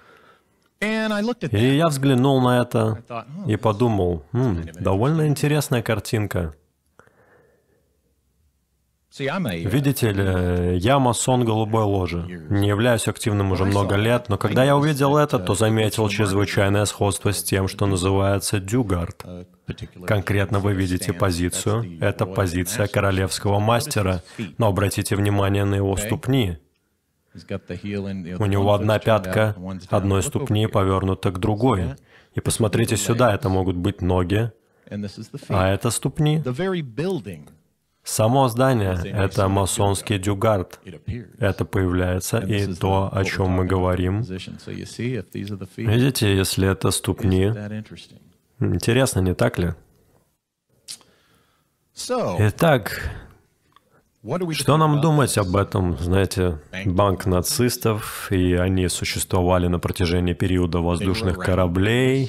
И я взглянул на это и подумал, «Хм, довольно интересная картинка». Видите ли, я масон голубой ложи. Не являюсь активным уже много лет, но когда я увидел это, то заметил чрезвычайное сходство с тем, что называется дюгард. Конкретно вы видите позицию. Это позиция королевского мастера, но обратите внимание на его ступни. У него одна пятка одной ступни повернута к другой. И посмотрите сюда, это могут быть ноги, а это ступни. Само здание — это масонский дюгард. Это появляется и то, о чем мы говорим. Видите, если это ступни. Интересно, не так ли? Итак, что нам думать об этом? Знаете, банк нацистов, и они существовали на протяжении периода воздушных кораблей.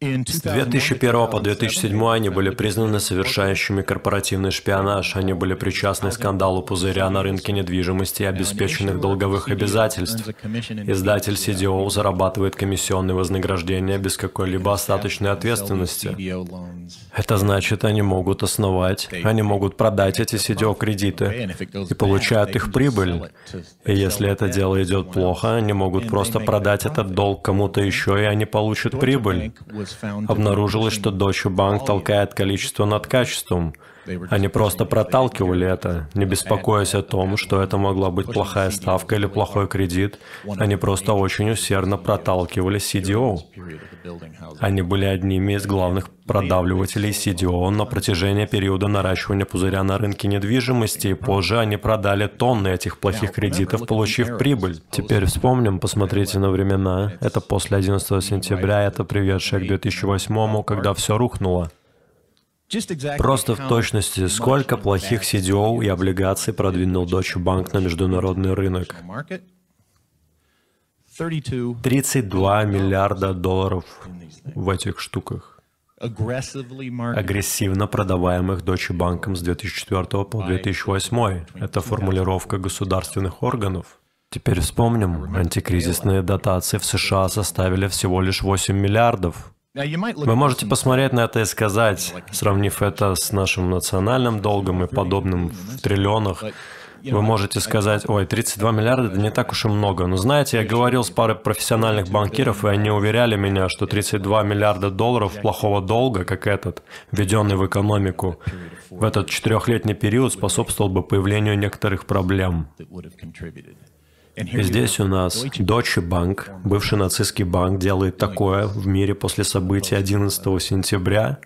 С две тысячи первого по две тысячи седьмой они были признаны совершающими корпоративный шпионаж. Они были причастны к скандалу пузыря на рынке недвижимости и обеспеченных долговых обязательств. Издатель си ди о зарабатывает комиссионные вознаграждения без какой-либо остаточной ответственности. Это значит, они могут основать, они могут продать эти си ди о-кредиты и получают их прибыль. И если это дело идет плохо, они могут просто продать этот долг кому-то еще, и они получат прибыль. Обнаружилось, что Deutsche Bank толкает количество над качеством. Они просто проталкивали это, не беспокоясь о том, что это могла быть плохая ставка или плохой кредит. Они просто очень усердно проталкивали си ди о. Они были одними из главных продавливателей си ди о на протяжении периода наращивания пузыря на рынке недвижимости, и позже они продали тонны этих плохих кредитов, получив прибыль. Теперь вспомним, посмотрите на времена. Это после одиннадцатого сентября, это приведшее к две тысячи восьмому, когда все рухнуло. Просто в точности, сколько плохих си ди о и облигаций продвинул Deutsche Bank на международный рынок? тридцать два миллиарда долларов в этих штуках, агрессивно продаваемых Deutsche Bank с две тысячи четвёртого по две тысячи восьмой. Это формулировка государственных органов. Теперь вспомним, антикризисные дотации в США составили всего лишь восемь миллиардов. Вы можете посмотреть на это и сказать, сравнив это с нашим национальным долгом и подобным в триллионах, вы можете сказать, ой, тридцать два миллиарда — это не так уж и много. Но знаете, я говорил с парой профессиональных банкиров, и они уверяли меня, что тридцать два миллиарда долларов плохого долга, как этот, введенный в экономику, в этот четырехлетний период способствовал бы появлению некоторых проблем. И здесь у нас Deutsche Bank, бывший нацистский банк, делает такое в мире после событий одиннадцатого сентября.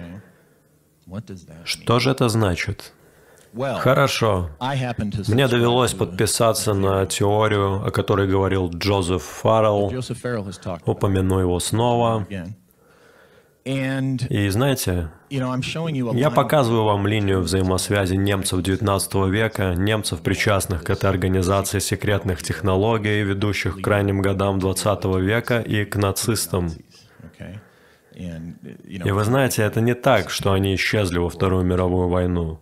Что же это значит? Хорошо. Мне довелось подписаться на теорию, о которой говорил Джозеф Фаррелл. Упомяну его снова. И знаете, я показываю вам линию взаимосвязи немцев девятнадцатого века, немцев, причастных к этой организации секретных технологий, ведущих к крайним годам двадцатого века, и к нацистам. И вы знаете, это не так, что они исчезли во Вторую мировую войну.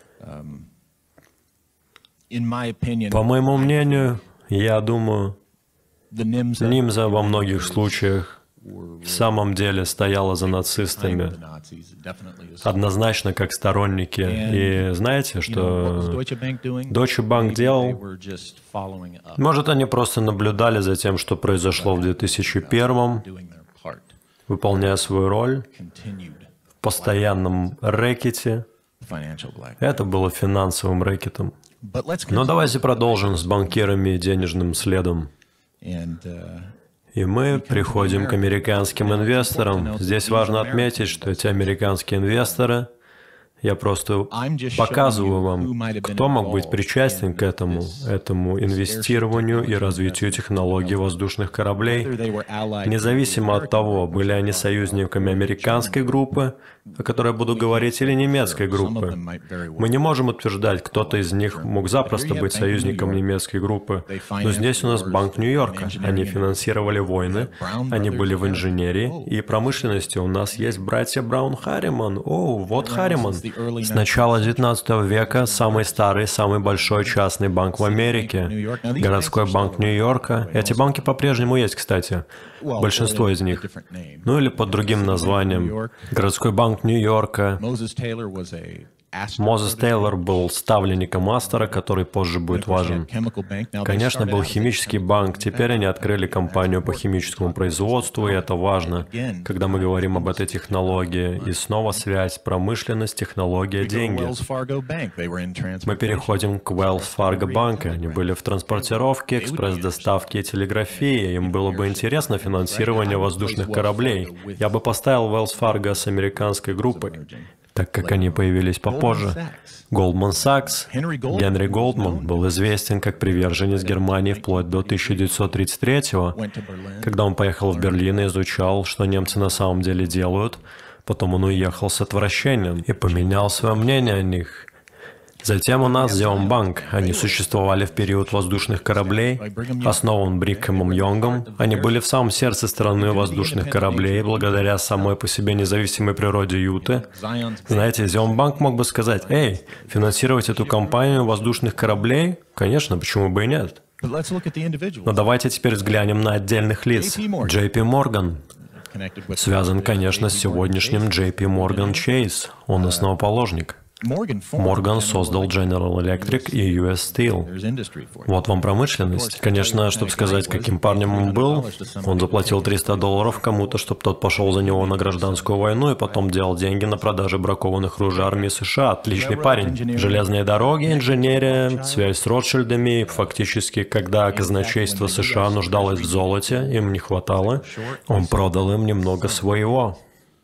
По моему мнению, я думаю, Нимза во многих случаях в самом деле стояла за нацистами, однозначно как сторонники. И знаете, что Deutsche Bank делал? Может, они просто наблюдали за тем, что произошло в две тысячи первом, выполняя свою роль в постоянном рэкете. Это было финансовым рэкетом. Но давайте продолжим с банкирами и денежным следом. И мы приходим к американским инвесторам. Здесь важно отметить, что эти американские инвесторы, я просто показываю вам, кто мог быть причастен к этому, этому инвестированию и развитию технологий воздушных кораблей, независимо от того, были они союзниками американской группы, о которой я буду говорить, или немецкой группы. Мы не можем утверждать, кто-то из них мог запросто быть союзником немецкой группы, но здесь у нас Банк Нью-Йорка. Они финансировали войны, они были в инженерии и промышленности. У нас есть братья Браун-Харриман. О, вот Харриман. С начала девятнадцатого века самый старый, самый большой частный банк в Америке, городской банк Нью-Йорка. Эти банки по-прежнему есть, кстати, большинство из них. Ну или под другим названием. Городской банк Нью-Йорка. Мозес Тейлор был ставленником Астора, который позже будет важен. Конечно, был химический банк, теперь они открыли компанию по химическому производству, и это важно, когда мы говорим об этой технологии. И снова связь, промышленность, технология, деньги. Мы переходим к Wells Fargo Bank. Они были в транспортировке, экспресс-доставке и телеграфии. Им было бы интересно финансирование воздушных кораблей. Я бы поставил Wells Fargo с американской группой, так как они появились попозже. Goldman Sachs, Генри Голдман, был известен как приверженец Германии вплоть до тысяча девятьсот тридцать третьего, когда он поехал в Берлин и изучал, что немцы на самом деле делают. Потом он уехал с отвращением и поменял свое мнение о них. Затем у нас Зеомбанк. Они существовали в период воздушных кораблей, основан Брикхэмом Йонгом. Они были в самом сердце страны воздушных кораблей, благодаря самой по себе независимой природе Юты. Знаете, Зеомбанк мог бы сказать: «Эй, финансировать эту компанию воздушных кораблей? Конечно, почему бы и нет?» Но давайте теперь взглянем на отдельных лиц. Джей Пи Морган связан, конечно, с сегодняшним Джей Пи Morgan Chase. Он основоположник. Морган создал General Electric и ю эс Steel. Вот вам промышленность. Конечно, чтобы сказать, каким парнем он был, он заплатил триста долларов кому-то, чтобы тот пошел за него на гражданскую войну и потом делал деньги на продаже бракованных ружей армии США. Отличный парень. Железные дороги, инженерия, связь с Ротшильдами. Фактически, когда казначейство США нуждалось в золоте, им не хватало, он продал им немного своего.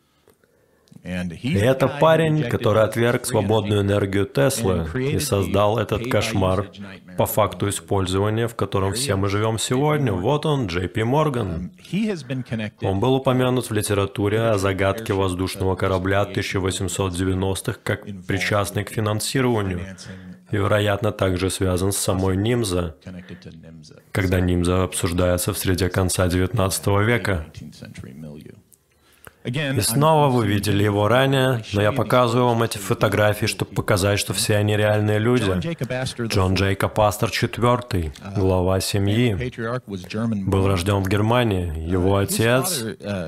И это парень, который отверг свободную энергию Теслы и создал этот кошмар по факту использования, в котором все мы живем сегодня. Вот он, Джей Пи Морган. Он был упомянут в литературе о загадке воздушного корабля тысяча восемьсот девяностых как причастный к финансированию. И, вероятно, также связан с самой Нимза, когда Нимза обсуждается в среде конца девятнадцатого века. И снова вы видели его ранее, но я показываю вам эти фотографии, чтобы показать, что все они реальные люди. Джон Джейкоб Астер четвёртый, глава семьи, был рожден в Германии. Его отец,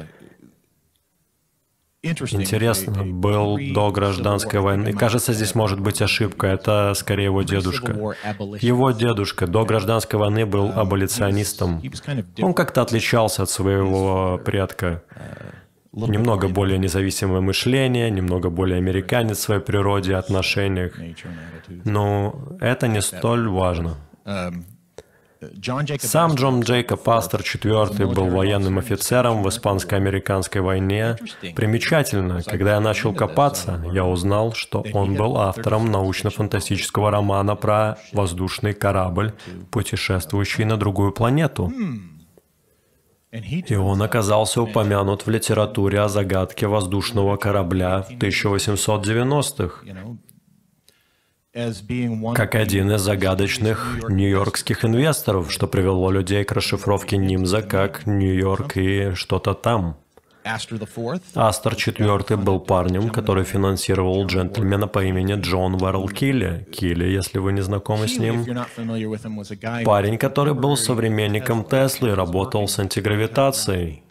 интересно, был до гражданской войны. Кажется, здесь может быть ошибка. Это скорее его дедушка. Его дедушка до гражданской войны был аболиционистом. Он как-то отличался от своего предка. Немного более независимое мышление, немного более американец в своей природе и отношениях. Но это не столь важно. Сам Джон Джейкоб Астер четвёртый был военным офицером в испанско-американской войне. Примечательно, когда я начал копаться, я узнал, что он был автором научно-фантастического романа про воздушный корабль, путешествующий на другую планету. И он оказался упомянут в литературе о загадке воздушного корабля в тысяча восемьсот девяностых, как один из загадочных нью-йоркских инвесторов, что привело людей к расшифровке Нимза как Нью-Йорк и что-то там. Астер четвёртый был парнем, который финансировал джентльмена по имени Джон Верл Килли. Килли, если вы не знакомы с ним. Парень, который был современником Теслы и работал с антигравитацией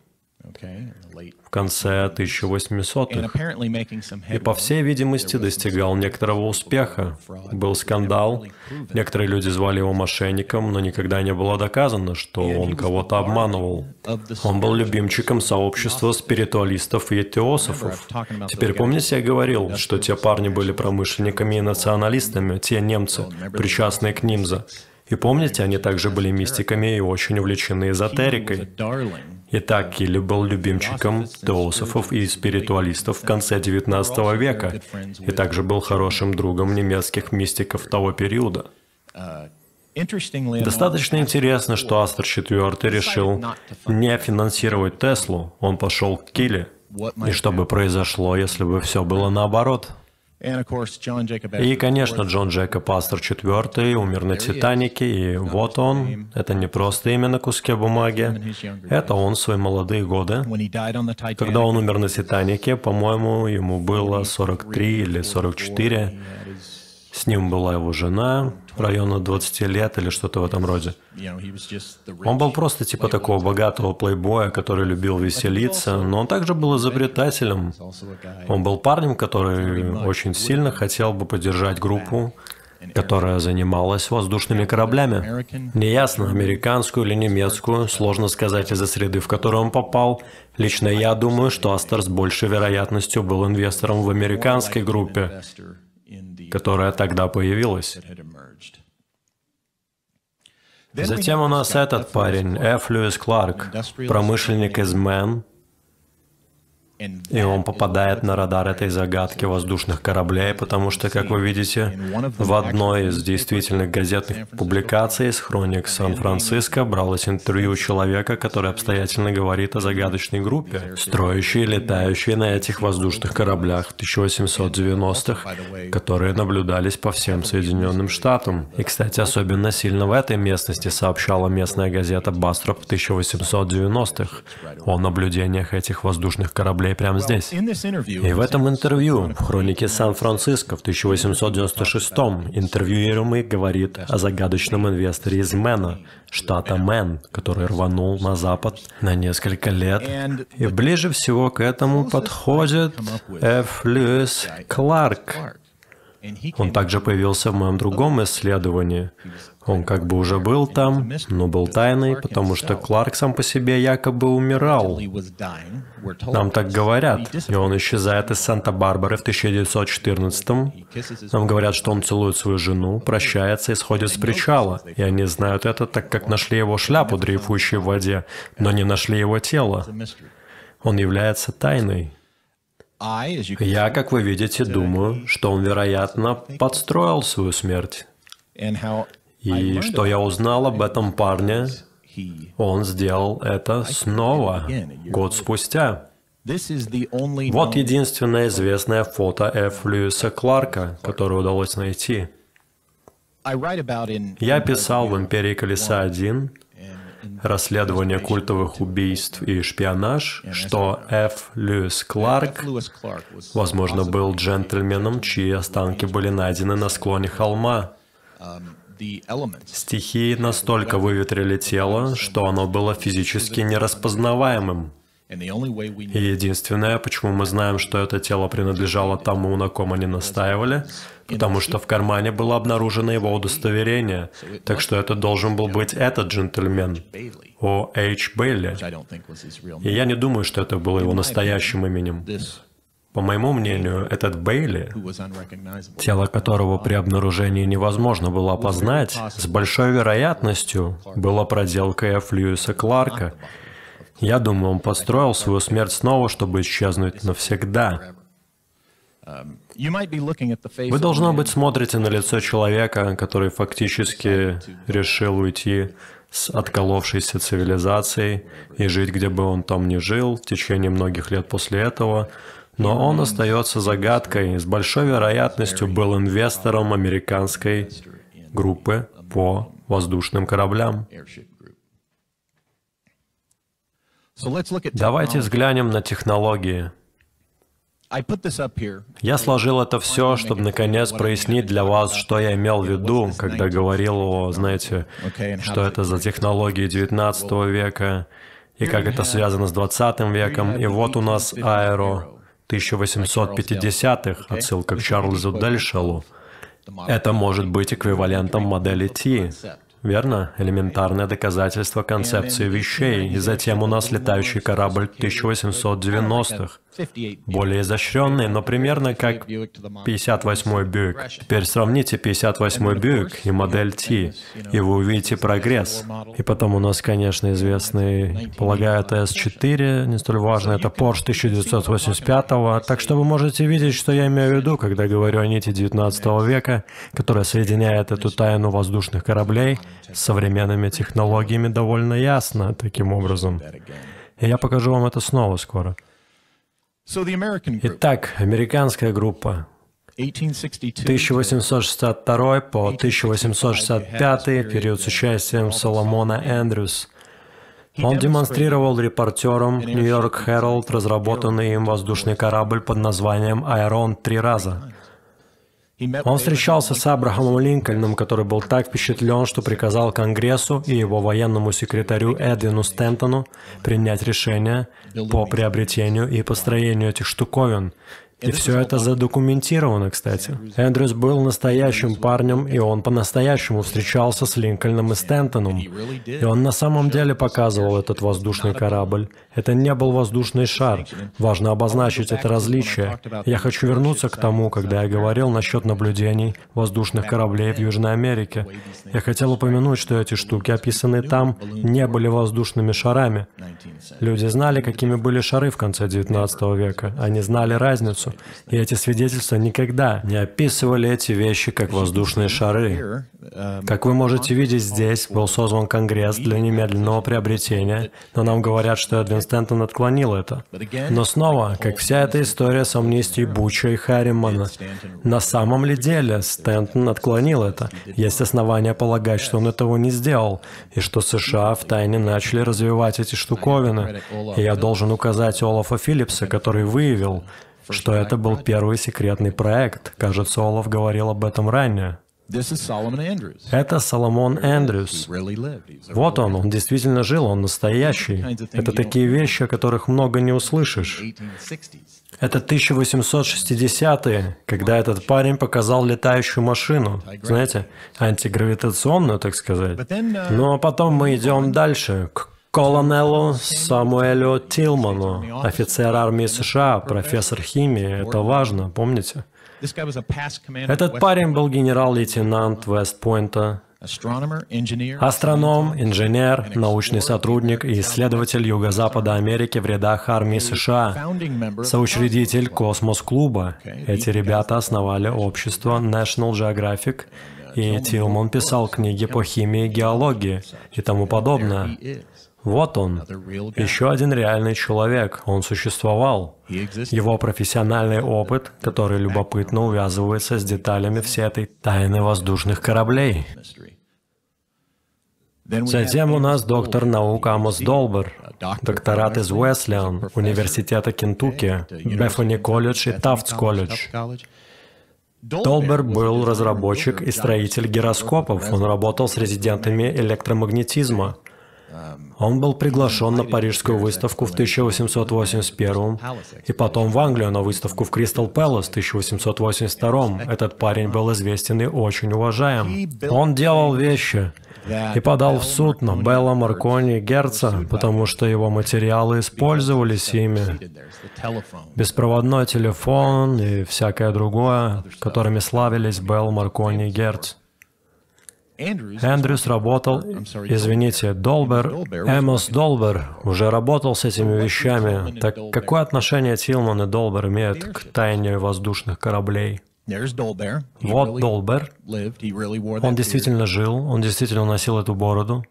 в конце тысяча восьмисотых. И, по всей видимости, достигал некоторого успеха. Был скандал. Некоторые люди звали его мошенником, но никогда не было доказано, что он кого-то обманывал. Он был любимчиком сообщества спиритуалистов и теософов. Теперь помните, я говорил, что те парни были промышленниками и националистами, те немцы, причастные к Нимза. И помните, они также были мистиками и очень увлечены эзотерикой. Итак, Килли был любимчиком теософов и спиритуалистов в конце девятнадцатого века и также был хорошим другом немецких мистиков того периода. Достаточно интересно, что Астер четвёртый решил не финансировать Теслу, он пошел к Килли. И что бы произошло, если бы все было наоборот? И, конечно, Джон Джейкоб Астер четвёртый умер на Титанике, и вот он, это не просто имя на куске бумаги, это он в свои молодые годы. Когда он умер на Титанике, по-моему, ему было сорок три или сорок четыре. С ним была его жена, района двадцати лет или что-то в этом роде. Он был просто типа такого богатого плейбоя, который любил веселиться, но он также был изобретателем. Он был парнем, который очень сильно хотел бы поддержать группу, которая занималась воздушными кораблями. Неясно, американскую или немецкую, сложно сказать из-за среды, в которую он попал. Лично я думаю, что Астер с большей вероятностью был инвестором в американской группе, которая тогда появилась. Затем у нас этот парень, Ф. Льюис Кларк, промышленник из Мэн. И он попадает на радар этой загадки воздушных кораблей, потому что, как вы видите, в одной из действительных газетных публикаций из хроник Сан-Франциско бралось интервью человека, который обстоятельно говорит о загадочной группе, строящей и летающей на этих воздушных кораблях в тысяча восемьсот девяностых, которые наблюдались по всем Соединенным Штатам. И, кстати, особенно сильно в этой местности сообщала местная газета «Бастроп» в тысяча восемьсот девяностых о наблюдениях этих воздушных кораблей прямо здесь. И в этом интервью в хронике Сан-Франциско в тысяча восемьсот девяносто шестом интервьюируемый говорит о загадочном инвесторе из Мэна, штата Мэн, который рванул на запад на несколько лет. И ближе всего к этому подходит Ф. Льюис Кларк. Он также появился в моем другом исследовании. Он как бы уже был там, но был тайной, потому что Кларк сам по себе якобы умирал. Нам так говорят. И он исчезает из Санта-Барбары в тысяча девятьсот четырнадцатом. Нам говорят, что он целует свою жену, прощается и сходит с причала. И они знают это, так как нашли его шляпу, дрейфующую в воде, но не нашли его тело. Он является тайной. Я, как вы видите, думаю, что он, вероятно, подстроил свою смерть. И что я узнал об этом парне, он сделал это снова, год спустя. Вот единственное известное фото Ф. Льюиса Кларка, которое удалось найти. Я писал в «Империи Колеса один» расследование культовых убийств и шпионаж, что Ф. Льюис Кларк, возможно, был джентльменом, чьи останки были найдены на склоне холма. Стихии настолько выветрили тело, что оно было физически нераспознаваемым. И единственное, почему мы знаем, что это тело принадлежало тому, на ком они настаивали, потому что в кармане было обнаружено его удостоверение, так что это должен был быть этот джентльмен, О. Эйч. Бейли. И я не думаю, что это было его настоящим именем. По моему мнению, этот Бейли, тело которого при обнаружении невозможно было опознать, с большой вероятностью было проделкой Ф. Льюиса Кларка. Я думаю, он построил свою смерть снова, чтобы исчезнуть навсегда. Вы, должно быть, смотрите на лицо человека, который фактически решил уйти с отколовшейся цивилизацией и жить, где бы он там ни жил, в течение многих лет после этого, но он остается загадкой и с большой вероятностью был инвестором американской группы по воздушным кораблям. Давайте взглянем на технологии. Я сложил это все, чтобы наконец прояснить для вас, что я имел в виду, когда говорил о, знаете, что это за технологии девятнадцатого века, и как это связано с двадцатым веком. И вот у нас аэро тысяча восемьсот пятидесятых, отсылка к Чарльзу Дельшеллу. Это может быть эквивалентом модели T. Верно? Элементарное доказательство концепции вещей. И затем у нас летающий корабль тысяча восемьсот девяностых. Более изощренный, но примерно как пятьдесят восьмой Бьюик. Теперь сравните пятьдесят восьмой Бьюик и модель T, и вы увидите прогресс. И потом у нас, конечно, известный, полагаю, это С четыре, не столь важно, это Porsche тысяча девятьсот восемьдесят пятого. Так что вы можете видеть, что я имею в виду, когда говорю о нити девятнадцатого века, которая соединяет эту тайну воздушных кораблей с современными технологиями довольно ясно таким образом. И я покажу вам это снова скоро. Итак, американская группа. тысяча восемьсот шестьдесят второй по тысяча восемьсот шестьдесят пятый, период с участием Соломона Эндрюс. Он демонстрировал репортерам Нью-Йорк Herald разработанный им воздушный корабль под названием «Айрон» три раза. Он встречался с Абрахамом Линкольном, который был так впечатлен, что приказал Конгрессу и его военному секретарю Эдвину Стентону принять решение по приобретению и построению этих штуковин. И все это задокументировано, кстати. Эндрюс был настоящим парнем, и он по-настоящему встречался с Линкольном и Стентоном. И он на самом деле показывал этот воздушный корабль. Это не был воздушный шар. Важно обозначить это различие. Я хочу вернуться к тому, когда я говорил насчет наблюдений воздушных кораблей в Южной Америке. Я хотел упомянуть, что эти штуки, описанные там, не были воздушными шарами. Люди знали, какими были шары в конце девятнадцатого века. Они знали разницу. И эти свидетельства никогда не описывали эти вещи как воздушные шары. Как вы можете видеть, здесь был созван Конгресс для немедленного приобретения, но нам говорят, что Эдвин Стентон отклонил это. Но снова, как вся эта история с амнистией Буча и Харримана, на самом ли деле Стентон отклонил это? Есть основания полагать, что он этого не сделал, и что США втайне начали развивать эти штуковины. И я должен указать Олафа Филлипса, который выявил, что это был первый секретный проект. Кажется, Олаф говорил об этом ранее. Это Соломон Эндрюс. Вот он, он действительно жил, он настоящий. Это такие вещи, о которых много не услышишь. Это тысяча восемьсот шестидесятые, когда этот парень показал летающую машину. Знаете, антигравитационную, так сказать. Ну а потом мы идем дальше, к колонелу Самуэлю Тилману, офицер армии США, профессор химии. Это важно, помните? Этот парень был генерал-лейтенант Вест-Пойнта, астроном, инженер, научный сотрудник и исследователь Юго-Запада Америки в рядах армии США, соучредитель Космос-клуба. Эти ребята основали общество National Geographic, и Тилман писал книги по химии, геологии и тому подобное. Вот он, еще один реальный человек, он существовал. Его профессиональный опыт, который любопытно увязывается с деталями всей этой тайны воздушных кораблей. Затем у нас доктор наук Амос Долбер, докторат из Уэслиан, Университета Кентукки, Бефани колледж и Тафтс колледж. Долбер был разработчик и строитель гироскопов, он работал с резидентами электромагнетизма. Он был приглашен на Парижскую выставку в тысяча восемьсот восемьдесят первом и потом в Англию на выставку в Кристал Пэлас в тысяча восемьсот восемьдесят втором. Этот парень был известен и очень уважаем. Он делал вещи и подал в суд на Белла, Маркони и Герца, потому что его материалы использовались ими. Беспроводной телефон и всякое другое, которыми славились Белл, Маркони и Герц. Эндрюс работал, извините, Долбер, Эмос Долбер уже работал с этими вещами. Так какое отношение Тилман и Долбер имеют к тайне воздушных кораблей? Вот Долбер. Он действительно жил, он действительно носил эту бороду.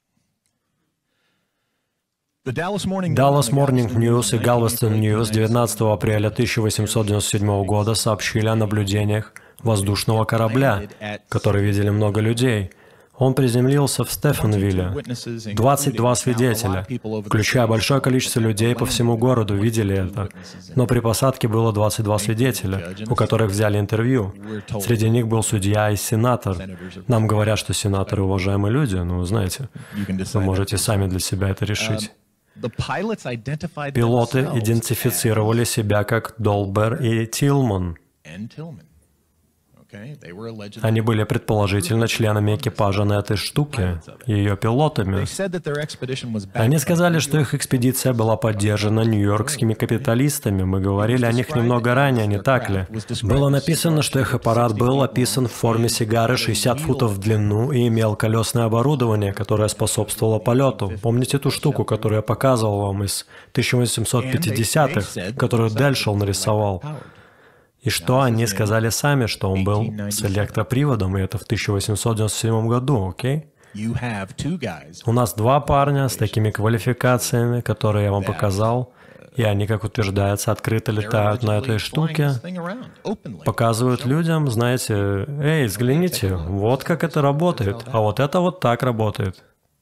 Dallas Morning News и Galveston News девятнадцатого апреля тысяча восемьсот девяносто седьмого года сообщили о наблюдениях воздушного корабля, который видели много людей. Он приземлился в Стефанвилле. двадцать два свидетеля, включая большое количество людей по всему городу, видели это. Но при посадке было двадцать два свидетеля, у которых взяли интервью. Среди них был судья и сенатор. Нам говорят, что сенаторы уважаемые люди, но вы знаете, вы можете сами для себя это решить. Пилоты идентифицировали себя как Долбер и Тилман. Они были предположительно членами экипажа на этой штуке, ее пилотами. Они сказали, что их экспедиция была поддержана нью-йоркскими капиталистами. Мы говорили о них немного ранее, не так ли? Было написано, что их аппарат был описан в форме сигары шестьдесят футов в длину и имел колесное оборудование, которое способствовало полету. Помните ту штуку, которую я показывал вам из тысяча восемьсот пятидесятых, которую Дельшел нарисовал? И что они сказали сами, что он был с электроприводом, и это в тысяча восемьсот девяносто седьмом году, окей? У нас два парня с такими квалификациями, которые я вам показал, и они, как утверждается, открыто летают на этой штуке, показывают людям, знаете, «Эй, взгляните, вот как это работает, а вот это вот так работает».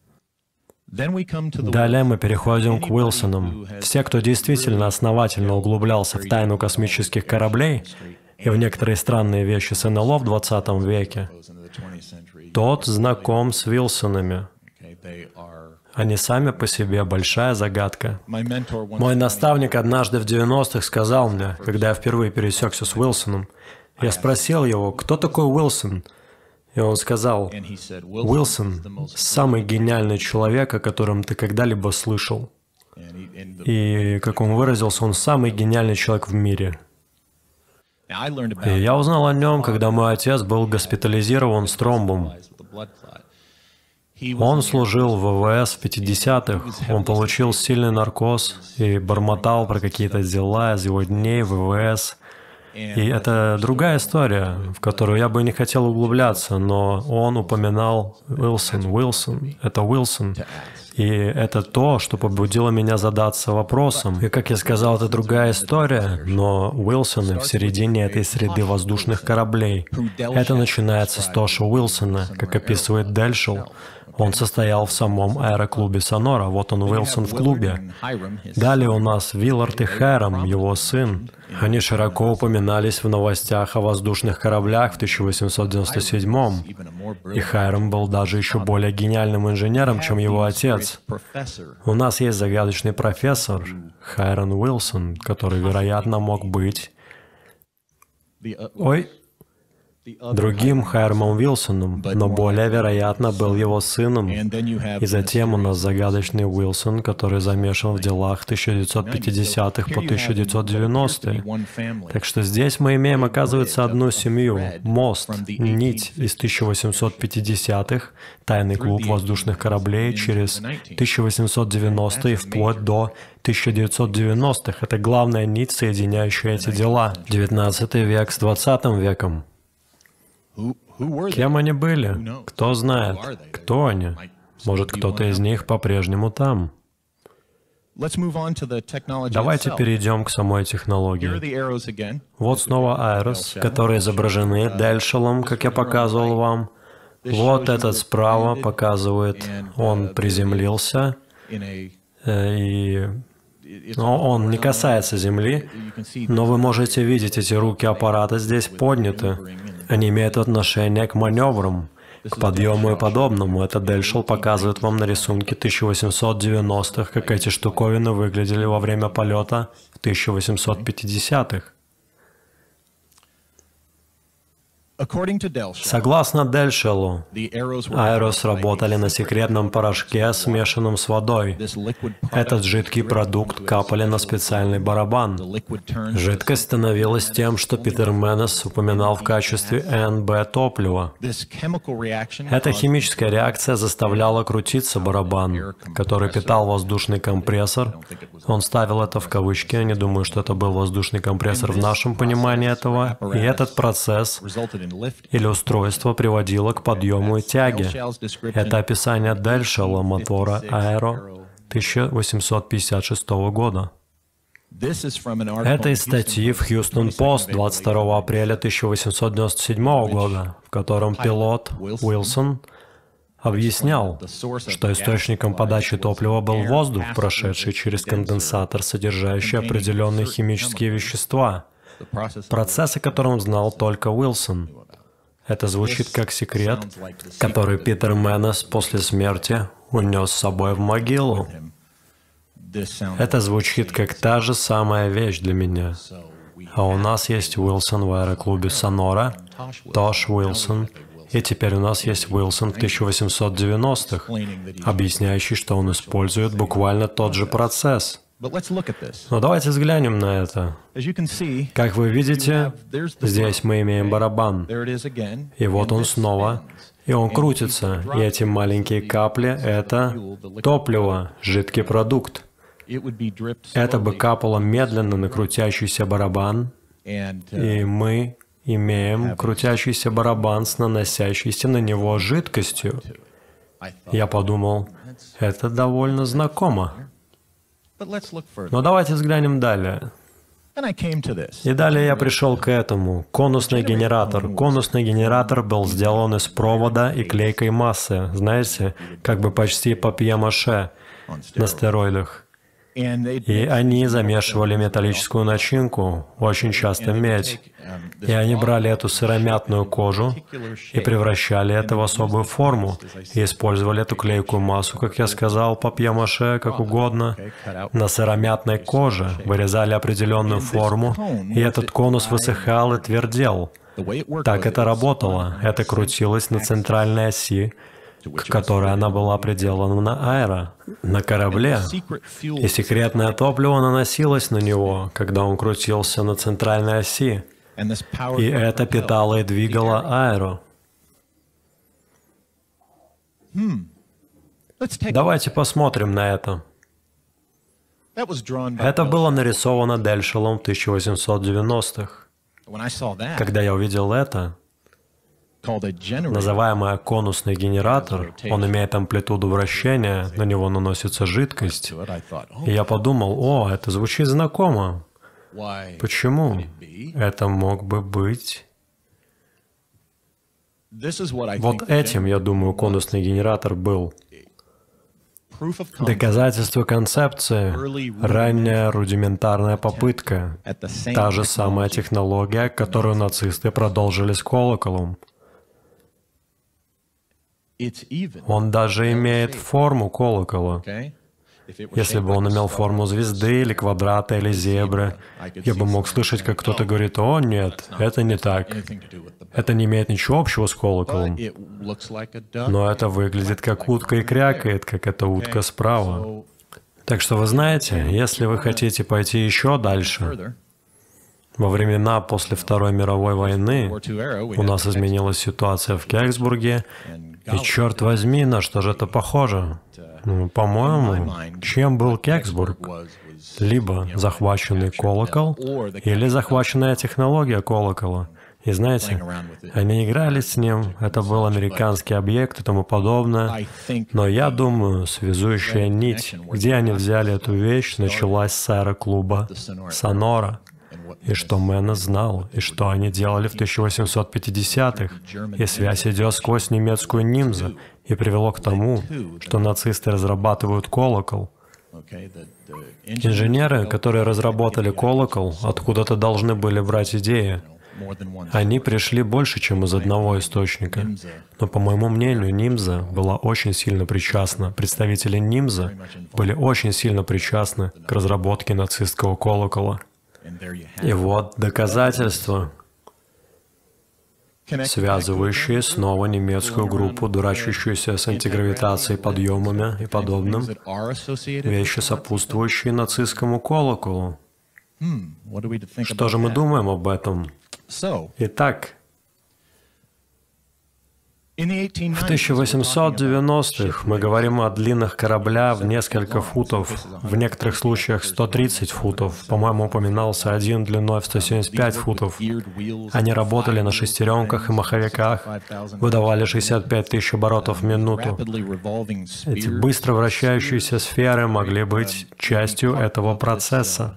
Далее мы переходим к Уилсонам. Все, кто действительно основательно углублялся в тайну космических кораблей и в некоторые странные вещи с эн эл о в двадцатом веке, тот знаком с Уилсонами. Они сами по себе большая загадка. Мой наставник однажды в девяностых сказал мне, когда я впервые пересекся с Уилсоном, я спросил его, кто такой Уилсон? И он сказал, Уилсон — самый гениальный человек, о котором ты когда-либо слышал. И, как он выразился, он самый гениальный человек в мире. И я узнал о нем, когда мой отец был госпитализирован с тромбом. Он служил в ВВС в пятидесятых, он получил сильный наркоз и бормотал про какие-то дела из его дней в ВВС. И это другая история, в которую я бы не хотел углубляться, но он упоминал Уилсон, Уилсон, это Уилсон. И это то, что побудило меня задаться вопросом. И, как я сказал, это другая история, но Уилсоны в середине этой среды воздушных кораблей. Это начинается с Тоша Уилсона, как описывает Дельшел. Он состоял в самом аэроклубе Сонора. Вот он, Уилсон, в клубе. Далее у нас Виллард и Хайрам, его сын. Они широко упоминались в новостях о воздушных кораблях в тысяча восемьсот девяносто седьмом. И Хайрам был даже еще более гениальным инженером, чем его отец. У нас есть загадочный профессор Хайрам Уилсон, который, вероятно, мог быть... Ой... другим Хайрамом Уилсоном, но более вероятно был его сыном. И затем у нас загадочный Уилсон, который замешан в делах тысяча девятьсот пятидесятых по тысяча девятьсот девяностые. Так что здесь мы имеем, оказывается, одну семью, мост, нить из тысяча восемьсот пятидесятых, тайный клуб воздушных кораблей через тысяча восемьсот девяностые вплоть до тысяча девятьсот девяностых. Это главная нить, соединяющая эти дела. девятнадцатый век с двадцатым веком. Кем они были? Кто знает? Кто они? Может, кто-то из них по-прежнему там? Давайте перейдем к самой технологии. Вот снова Айрос, которые изображены Дельшелом, как я показывал вам. Вот этот справа показывает, он приземлился, и... Но он не касается Земли, но вы можете видеть эти руки аппарата здесь подняты. Они имеют отношение к маневрам, к подъему и подобному. Это Дельшел показывает вам на рисунке тысяча восемьсот девяностых, как эти штуковины выглядели во время полета в тысяча восемьсот пятидесятых. Согласно Дельшелу, Айрос работали на секретном порошке, смешанном с водой. Этот жидкий продукт капали на специальный барабан. Жидкость становилась тем, что Питер Менес упоминал в качестве эн бэ топлива. Эта химическая реакция заставляла крутиться барабан, который питал воздушный компрессор. Он ставил это в кавычки, я не думаю, что это был воздушный компрессор в нашем понимании этого. И этот процесс или устройство приводило к подъему и тяге. Это описание Дельшела мотора Аэро тысяча восемьсот пятьдесят шестого года. Это из статьи в Хьюстон Пост двадцать второго апреля тысяча восемьсот девяносто седьмого года, в котором пилот Уилсон объяснял, что источником подачи топлива был воздух, прошедший через конденсатор, содержащий определенные химические вещества, процесс, о котором знал только Уилсон. Это звучит как секрет, который Питер Менес после смерти унес с собой в могилу. Это звучит как та же самая вещь для меня. А у нас есть Уилсон в аэроклубе Сонора, Тош Уилсон, и теперь у нас есть Уилсон в тысяча восемьсот девяностых, объясняющий, что он использует буквально тот же процесс. Но давайте взглянем на это. Как вы видите, здесь мы имеем барабан. И вот он снова. И он крутится. И эти маленькие капли — это топливо, жидкий продукт. Это бы капало медленно на крутящийся барабан. И мы имеем крутящийся барабан с наносящейся на него жидкостью. Я подумал, это довольно знакомо. Но давайте взглянем далее. И далее я пришел к этому. Конусный генератор. Конусный генератор был сделан из провода и клейкой массы. Знаете, как бы почти папье-маше на стероидах. И они замешивали металлическую начинку, очень часто медь. И они брали эту сыромятную кожу и превращали это в особую форму. И использовали эту клейкую массу, как я сказал, папье-маше, как угодно, на сыромятной коже. Вырезали определенную форму, и этот конус высыхал и твердел. Так это работало. Это крутилось на центральной оси, к которой она была приделана на аэро, на корабле. И секретное топливо наносилось на него, когда он крутился на центральной оси. И это питало и двигало аэро. Давайте посмотрим на это. Это было нарисовано Дельшелом в тысяча восемьсот девяностых. Когда я увидел это, называемый конусный генератор, он имеет амплитуду вращения, на него наносится жидкость. И я подумал, о, это звучит знакомо. Почему? Это мог бы быть... Вот этим, я думаю, конусный генератор был. Доказательство концепции, ранняя рудиментарная попытка, та же самая технология, которую нацисты продолжили с колоколом. Он даже имеет форму колокола. Если бы он имел форму звезды, или квадрата, или зебры, я бы мог слышать, как кто-то говорит, «О, нет, это не так. Это не имеет ничего общего с колоколом». Но это выглядит как утка и крякает, как эта утка справа. Так что вы знаете, если вы хотите пойти еще дальше, во времена после Второй мировой войны у нас изменилась ситуация в Кёнигсбурге, и, черт возьми, на что же это похоже? Ну, по-моему, чем был Кёнигсбург? Либо захваченный колокол, или захваченная технология колокола. И знаете, они играли с ним, это был американский объект и тому подобное. Но я думаю, связующая нить, где они взяли эту вещь, началась с аэроклуба Сонора. И что Мэннес знал, и что они делали в тысяча восемьсот пятидесятых. И связь идет сквозь немецкую нимзу, и привело к тому, что нацисты разрабатывают колокол. Инженеры, которые разработали колокол, откуда-то должны были брать идеи. Они пришли больше, чем из одного источника. Но, по моему мнению, нимза была очень сильно причастна. Представители нимза были очень сильно причастны к разработке нацистского колокола. И вот доказательства, связывающие снова немецкую группу, дурачащуюся с антигравитацией, подъемами и подобным, вещи, сопутствующие нацистскому колоколу. Что же мы думаем об этом? Итак, в тысяча восемьсот девяностых мы говорим о длинных кораблях в несколько футов, в некоторых случаях сто тридцать футов. По-моему, упоминался один длиной в сто семьдесят пять футов. Они работали на шестеренках и маховиках, выдавали шестьдесят пять тысяч оборотов в минуту. Эти быстро вращающиеся сферы могли быть частью этого процесса.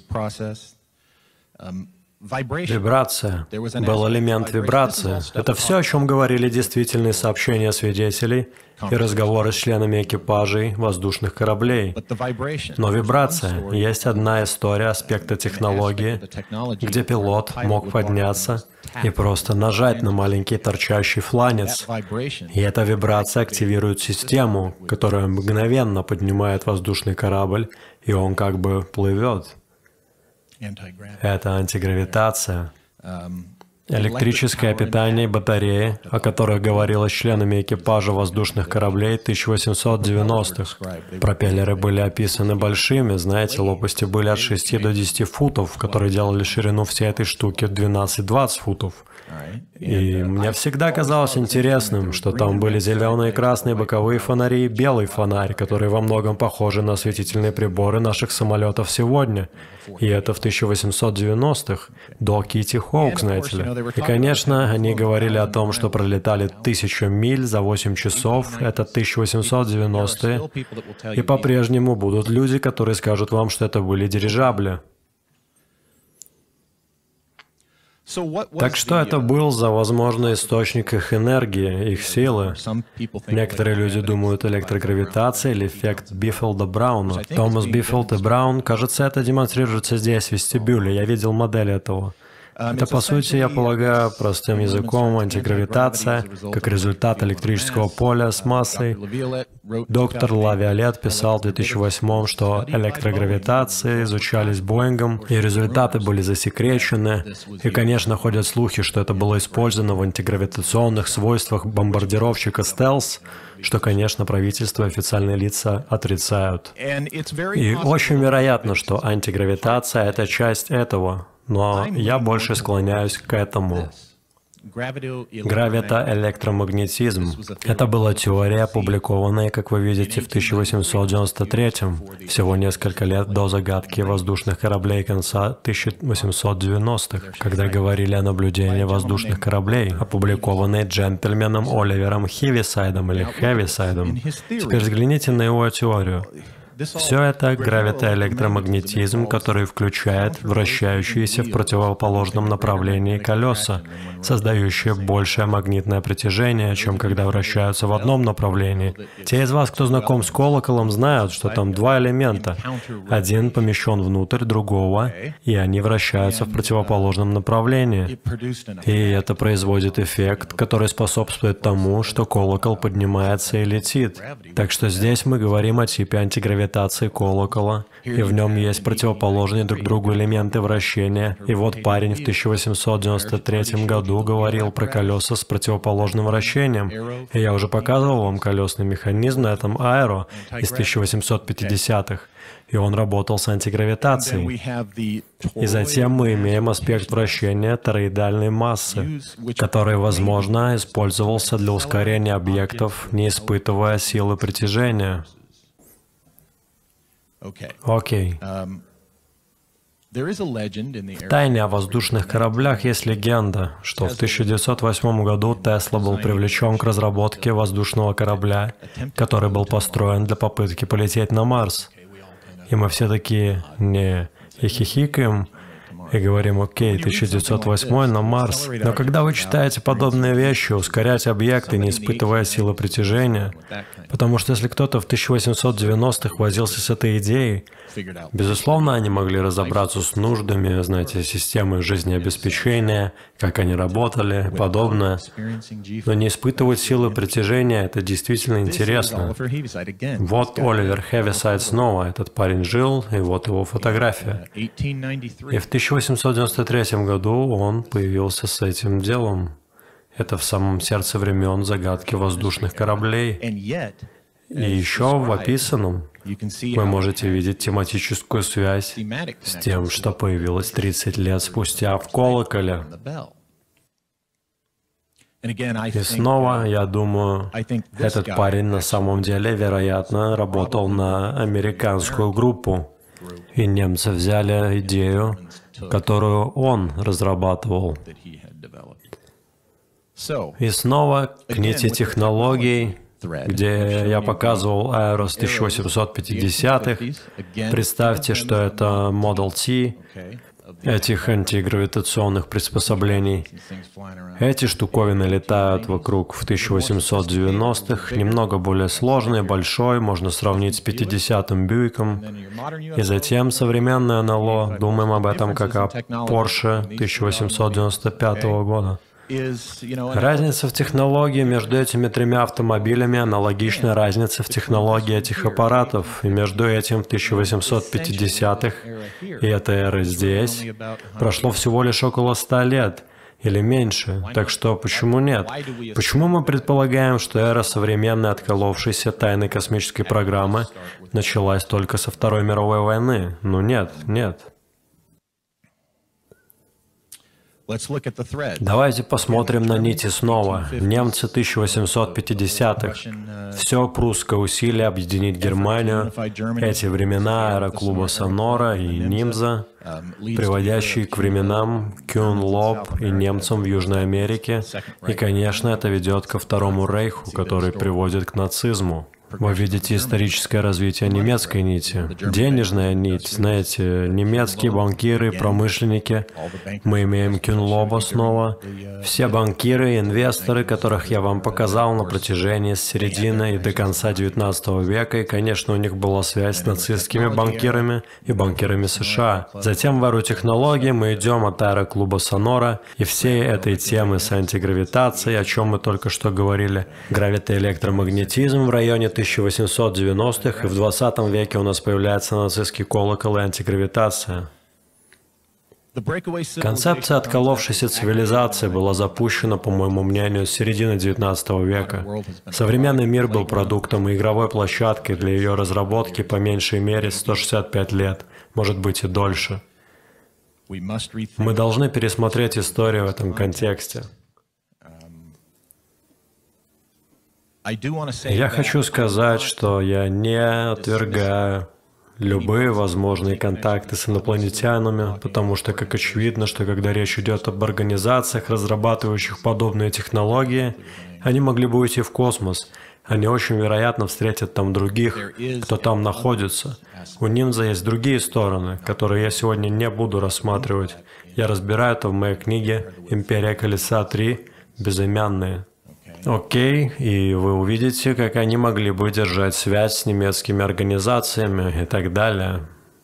Вибрация. Был элемент вибрации. Это все, о чем говорили действительные сообщения свидетелей и разговоры с членами экипажей воздушных кораблей. Но вибрация. Есть одна история аспекта технологии, где пилот мог подняться и просто нажать на маленький торчащий фланец. И эта вибрация активирует систему, которая мгновенно поднимает воздушный корабль, и он как бы плывет. Это антигравитация. Электрическое питание батареи, о которых говорилось членами экипажа воздушных кораблей тысяча восемьсот девяностых. Пропеллеры были описаны большими, знаете, лопасти были от шести до десяти футов, которые делали ширину всей этой штуки двенадцать-двадцать футов. И мне всегда казалось интересным, что там были зеленые и красные боковые фонари и белый фонарь, которые во многом похожи на осветительные приборы наших самолетов сегодня. И это в тысяча восемьсот девяностых, до Китти Хоук, знаете ли. И, конечно, они говорили о том, что пролетали тысячу миль за восемь часов, это тысяча восемьсот девяностые, и по-прежнему будут люди, которые скажут вам, что это были дирижабли. Так что это был за возможный источник их энергии, их силы? Некоторые люди думают электрогравитация или эффект Биффилда-Брауна. Томас Биффилд и Браун, кажется, это демонстрируется здесь, в вестибюле. Я видел модель этого. Это, по сути, я полагаю, простым языком, антигравитация, как результат электрического поля с массой. Доктор Лавиолет писал в две тысячи восьмом, что электрогравитации изучались Боингом, и результаты были засекречены. И, конечно, ходят слухи, что это было использовано в антигравитационных свойствах бомбардировщика «Стелс», что, конечно, правительство и официальные лица отрицают. И очень вероятно, что антигравитация — это часть этого. Но я больше склоняюсь к этому. Гравитоэлектромагнетизм. Это была теория, опубликованная, как вы видите, в тысяча восемьсот девяносто третьем, всего несколько лет до загадки воздушных кораблей конца тысяча восемьсот девяностых, когда говорили о наблюдении воздушных кораблей, опубликованной джентльменом Оливером Хивисайдом или Хевисайдом. Теперь взгляните на его теорию. Все это гравитоэлектромагнетизм, который включает вращающиеся в противоположном направлении колеса, создающие большее магнитное притяжение, чем когда вращаются в одном направлении. Те из вас, кто знаком с колоколом, знают, что там два элемента. Один помещен внутрь другого, и они вращаются в противоположном направлении. И это производит эффект, который способствует тому, что колокол поднимается и летит. Так что здесь мы говорим о типе антигравитации колокола, и в нем есть противоположные друг другу элементы вращения. И вот парень в тысяча восемьсот девяносто третьем году говорил про колеса с противоположным вращением. И я уже показывал вам колесный механизм на этом аэро из тысяча восемьсот пятидесятых. И он работал с антигравитацией. И затем мы имеем аспект вращения тороидальной массы, который, возможно, использовался для ускорения объектов, не испытывая силы притяжения. Окей. В тайне о воздушных кораблях есть легенда, что в тысяча девятьсот восьмом году Тесла был привлечен к разработке воздушного корабля, который был построен для попытки полететь на Марс. И мы все такие не и хихикаем, и говорим: окей, тысяча девятьсот восьмой на Марс. Но когда вы читаете подобные вещи, ускорять объекты, не испытывая силы притяжения, потому что если кто-то в тысяча восемьсот девяностых возился с этой идеей, безусловно, они могли разобраться с нуждами, знаете, системы жизнеобеспечения, как они работали, подобное. Но не испытывать силы притяжения — это действительно интересно. Вот Оливер Хевисайд снова, этот парень жил, и вот его фотография. И в тысяча восемьсот девяносто третьем году он появился с этим делом. Это в самом сердце времен загадки воздушных кораблей. И еще в описанном вы можете видеть тематическую связь с тем, что появилось тридцать лет спустя в колоколе. И снова, я думаю, этот парень на самом деле, вероятно, работал на американскую группу. И немцы взяли идею, которую он разрабатывал. И снова к нити технологий, где я показывал аэро с тысяча восемьсот пятидесятых. Представьте, что это Model T, этих антигравитационных приспособлений. Эти штуковины летают вокруг в тысяча восемьсот девяностых, немного более сложный, большой, можно сравнить с пятидесятым Бьюиком. И затем современное эн эл о, думаем об этом как о Porsche тысяча восемьсот девяносто пятого года. Разница в технологии между этими тремя автомобилями аналогична разнице в технологии этих аппаратов, и между этим в тысяча восемьсот пятидесятых и этой эры здесь прошло всего лишь около ста лет, или меньше. Так что почему нет? Почему мы предполагаем, что эра современной отколовшейся тайной космической программы началась только со Второй мировой войны? Ну нет, нет. Давайте посмотрим на нити снова. Немцы тысяча восемьсот пятидесятых. Все прусское усилие объединить Германию. Эти времена аэроклуба Сонора и Нимза, приводящие к временам Кюн-Лоб и немцам в Южной Америке. И, конечно, это ведет ко Второму Рейху, который приводит к нацизму. Вы видите историческое развитие немецкой нити. Денежная нить, знаете, немецкие банкиры, промышленники. Мы имеем Кюнлоба снова. Все банкиры, инвесторы, которых я вам показал на протяжении с середины и до конца девятнадцатого века, и, конечно, у них была связь с нацистскими банкирами и банкирами США. Затем в эру технологий мы идем от аэроклуба Сонора и всей этой темы с антигравитацией, о чем мы только что говорили. Гравитоэлектромагнетизм в районе тысяча восемьсот девяностых, и в двадцатом веке у нас появляется нацистский колокол и антигравитация. Концепция отколовшейся цивилизации была запущена, по моему мнению, с середины девятнадцатого века. Современный мир был продуктом и игровой площадкой для ее разработки по меньшей мере сто шестьдесят пять лет, может быть и дольше. Мы должны пересмотреть историю в этом контексте. Я хочу сказать, что я не отвергаю любые возможные контакты с инопланетянами, потому что, как очевидно, что когда речь идет об организациях, разрабатывающих подобные технологии, они могли бы уйти в космос. Они очень вероятно встретят там других, кто там находится. У нимза есть другие стороны, которые я сегодня не буду рассматривать. Я разбираю это в моей книге «Империя Колеса три. Безымянные». Окей, и вы увидите, как они могли бы держать связь с немецкими организациями и так далее.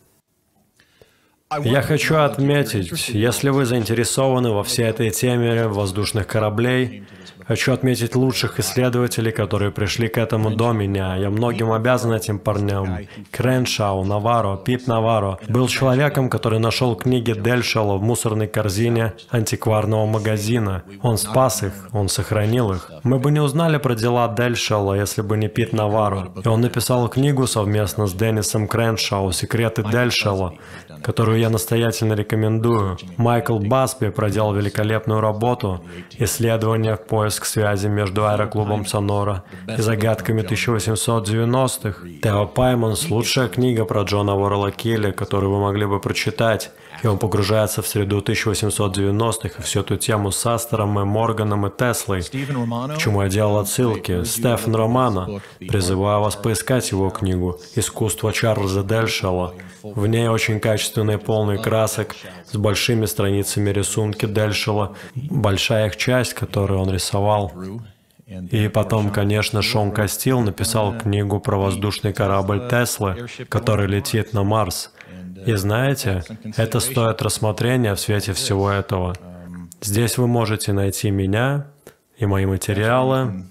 Я хочу отметить, если вы заинтересованы во всей этой теме воздушных кораблей, хочу отметить лучших исследователей, которые пришли к этому до меня. Я многим обязан этим парням. Креншау, Наваро, Пит Наваро был человеком, который нашел книги Дельшела в мусорной корзине антикварного магазина. Он спас их, он сохранил их. Мы бы не узнали про дела Дельшела, если бы не Пит Наваро. И он написал книгу совместно с Деннисом Креншау «Секреты Дельшела», которую я настоятельно рекомендую. Майкл Басби проделал великолепную работу, исследования в поиск связи между аэроклубом Сонора и загадками тысяча восемьсот девяностых. Тео Паймонс — лучшая книга про Джона Уоррелла Келли, которую вы могли бы прочитать. И он погружается в среду тысяча восемьсот девяностых и всю эту тему с Астером и Морганом и Теслой, к чему я делал отсылки. Стефан Романо. Призываю вас поискать его книгу «Искусство Чарльза Дельшела». В ней очень качественные, полные красок, с большими страницами рисунки Дельшела, большая их часть, которую он рисовал. И потом, конечно, Шон Кастил написал книгу про воздушный корабль Теслы, который летит на Марс. И знаете, это стоит рассмотрения в свете всего этого. Здесь вы можете найти меня и мои материалы.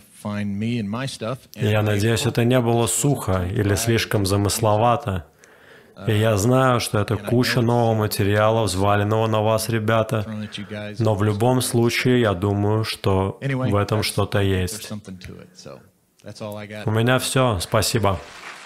И я надеюсь, это не было сухо или слишком замысловато. И я знаю, что это куча нового материала, взваленного на вас, ребята, но в любом случае, я думаю, что в этом что-то есть. У меня все. Спасибо.